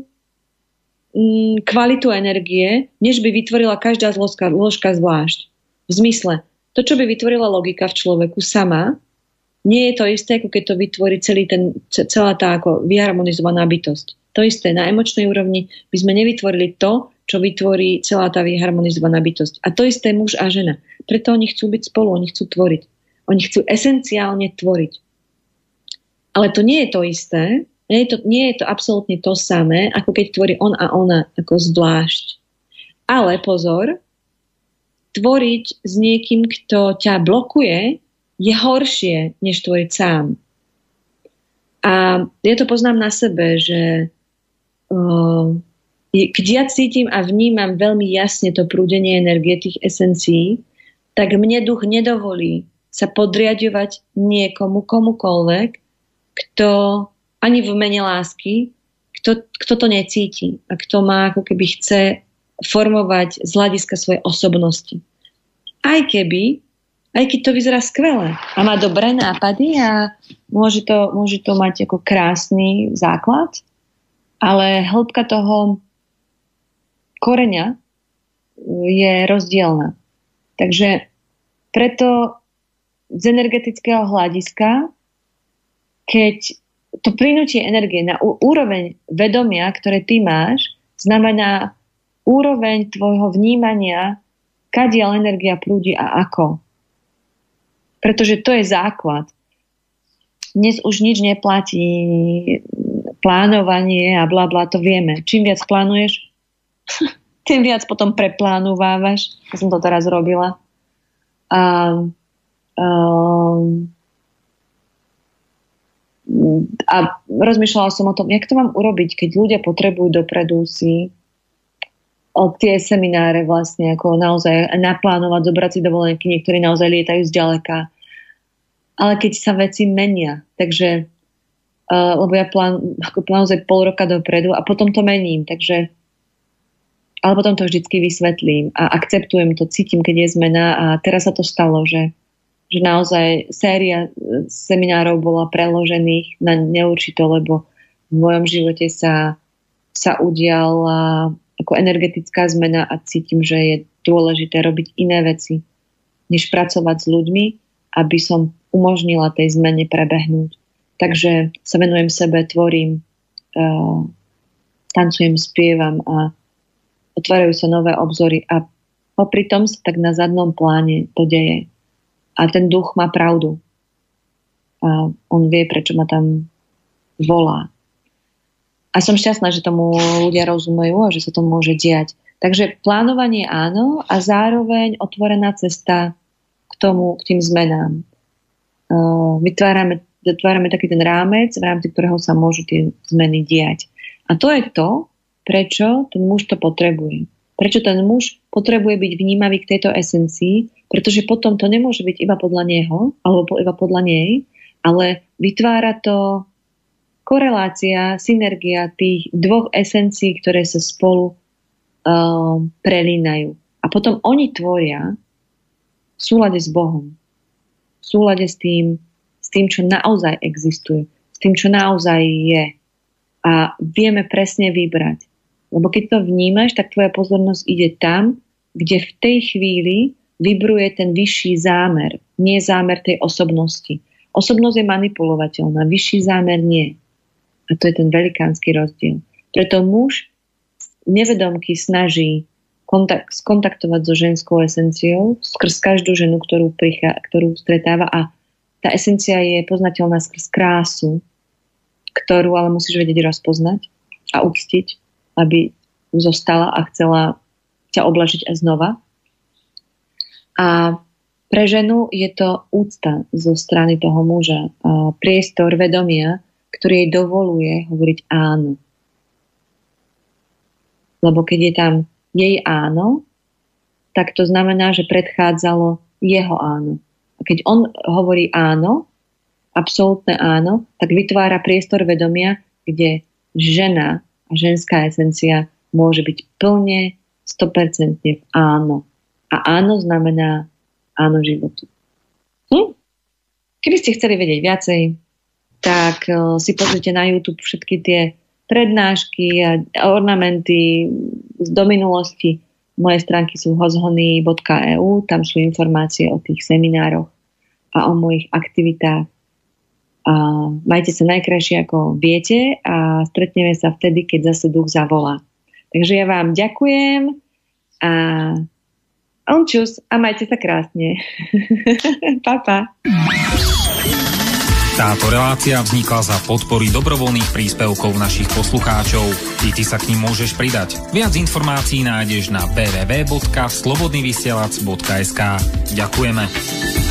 kvalitu energie, než by vytvorila každá zložka zvlášť. V zmysle, to, čo by vytvorila logika v človeku sama, nie je to isté, ako keď to vytvorí celá tá ako vyharmonizovaná bytosť. To isté, na emočnej úrovni by sme nevytvorili to, čo vytvorí celá tá vyharmonizovaná bytosť. A to isté muž a žena. Preto oni chcú byť spolu, oni chcú tvoriť. Oni chcú esenciálne tvoriť. Ale to nie je to isté, nie je to absolútne to samé, ako keď tvorí on a ona ako zvlášť. Ale pozor, tvoriť s niekým, kto ťa blokuje, je horšie, než tvoriť sám. A ja to poznám na sebe, že keď ja cítim a vnímam veľmi jasne to prúdenie energie tých esencií, tak mne duch nedovolí sa podriadovať niekomu, komukoľvek, kto ani v mene lásky, kto to necíti a kto má, ako keby chce formovať z hľadiska svojej osobnosti. Aj keď to vyzerá skvelé a má dobré nápady a môže to mať ako krásny základ, ale hĺbka toho koreňa je rozdielna. Takže preto z energetického hľadiska, keď to plynutie energie na úroveň vedomia, ktoré ty máš, znamená úroveň tvojho vnímania, kadiaľ energia prúdi a ako. Pretože to je základ. Dnes už nič neplatí, plánovanie a blablá, to vieme. Čím viac plánuješ, tým viac potom preplánovávaš. Ja som to teraz robila. A rozmýšľala som o tom, jak to mám urobiť, keď ľudia potrebujú dopredu si od tie semináre vlastne ako naozaj naplánovať, zobrať si dovolenky, niektorí naozaj lietajú zďaleka. Ale keď sa veci menia, takže lebo ja naozaj pol roka dopredu a potom to mením, takže ale potom to vždycky vysvetlím a akceptujem to, cítim, keď je zmena a teraz sa to stalo, že naozaj séria seminárov bola preložených na neurčito, lebo v mojom živote sa udiala ako energetická zmena a cítim, že je dôležité robiť iné veci, než pracovať s ľuďmi, aby som umožnila tej zmene prebehnúť. Takže sa venujem sebe, tvorím, tancujem, spievam a otvárajú sa nové obzory a popri tom sa tak na zadnom pláne to deje. A ten duch má pravdu. A on vie, prečo ma tam volá. A som šťastná, že tomu ľudia rozumejú a že sa to môže diať. Takže plánovanie áno a zároveň otvorená cesta k tým zmenám. Vytvárame taký ten rámec, v rámci ktorého sa môžu tie zmeny diať. A to je to, prečo ten muž to potrebuje. Prečo ten muž potrebuje byť vnímavý k tejto esencii, pretože potom to nemôže byť iba podľa neho, alebo iba podľa nej, ale vytvára to korelácia, synergia tých dvoch esencií, ktoré sa spolu prelínajú. A potom oni tvoria v súlade s Bohom. V súlade s tým, čo naozaj existuje. S tým, čo naozaj je. A vieme presne vybrať. Lebo keď to vnímaš, tak tvoja pozornosť ide tam, kde v tej chvíli vibruje ten vyšší zámer. Nie zámer tej osobnosti. Osobnosť je manipulovateľná, vyšší zámer nie. A to je ten velikánsky rozdiel. Preto muž nevedomky snaží skontaktovať so ženskou esenciou skrz každú ženu, ktorú stretáva a tá esencia je poznateľná skrz krásu, ktorú ale musíš vedieť rozpoznať a uctiť, aby zostala a chcela ťa oblažiť aj znova. A pre ženu je to úcta zo strany toho muža, priestor vedomia, ktorý jej dovoluje hovoriť áno. Lebo keď je tam jej áno, tak to znamená, že predchádzalo jeho áno. A keď on hovorí áno, absolútne áno, tak vytvára priestor vedomia, kde žena a ženská esencia môže byť plne, 100% v áno. A áno znamená áno životu. Keby ste chceli vedieť viacej, tak si pozrite na YouTube všetky tie prednášky a ornamenty do minulosti. Moje stránky sú hozhony.eu, tam sú informácie o tých seminároch a o mojich aktivitách. A majte sa najkrajšie, ako viete, a stretneme sa vtedy, keď zase duch zavolá. Takže ja vám ďakujem a čus a majte sa krásne. Pa, pa. Táto relácia vznikla za podpory dobrovoľných príspevkov našich poslucháčov. I ty sa k nim môžeš pridať. Viac informácií nájdeš na www.slobodnyvysielac.sk. Ďakujeme.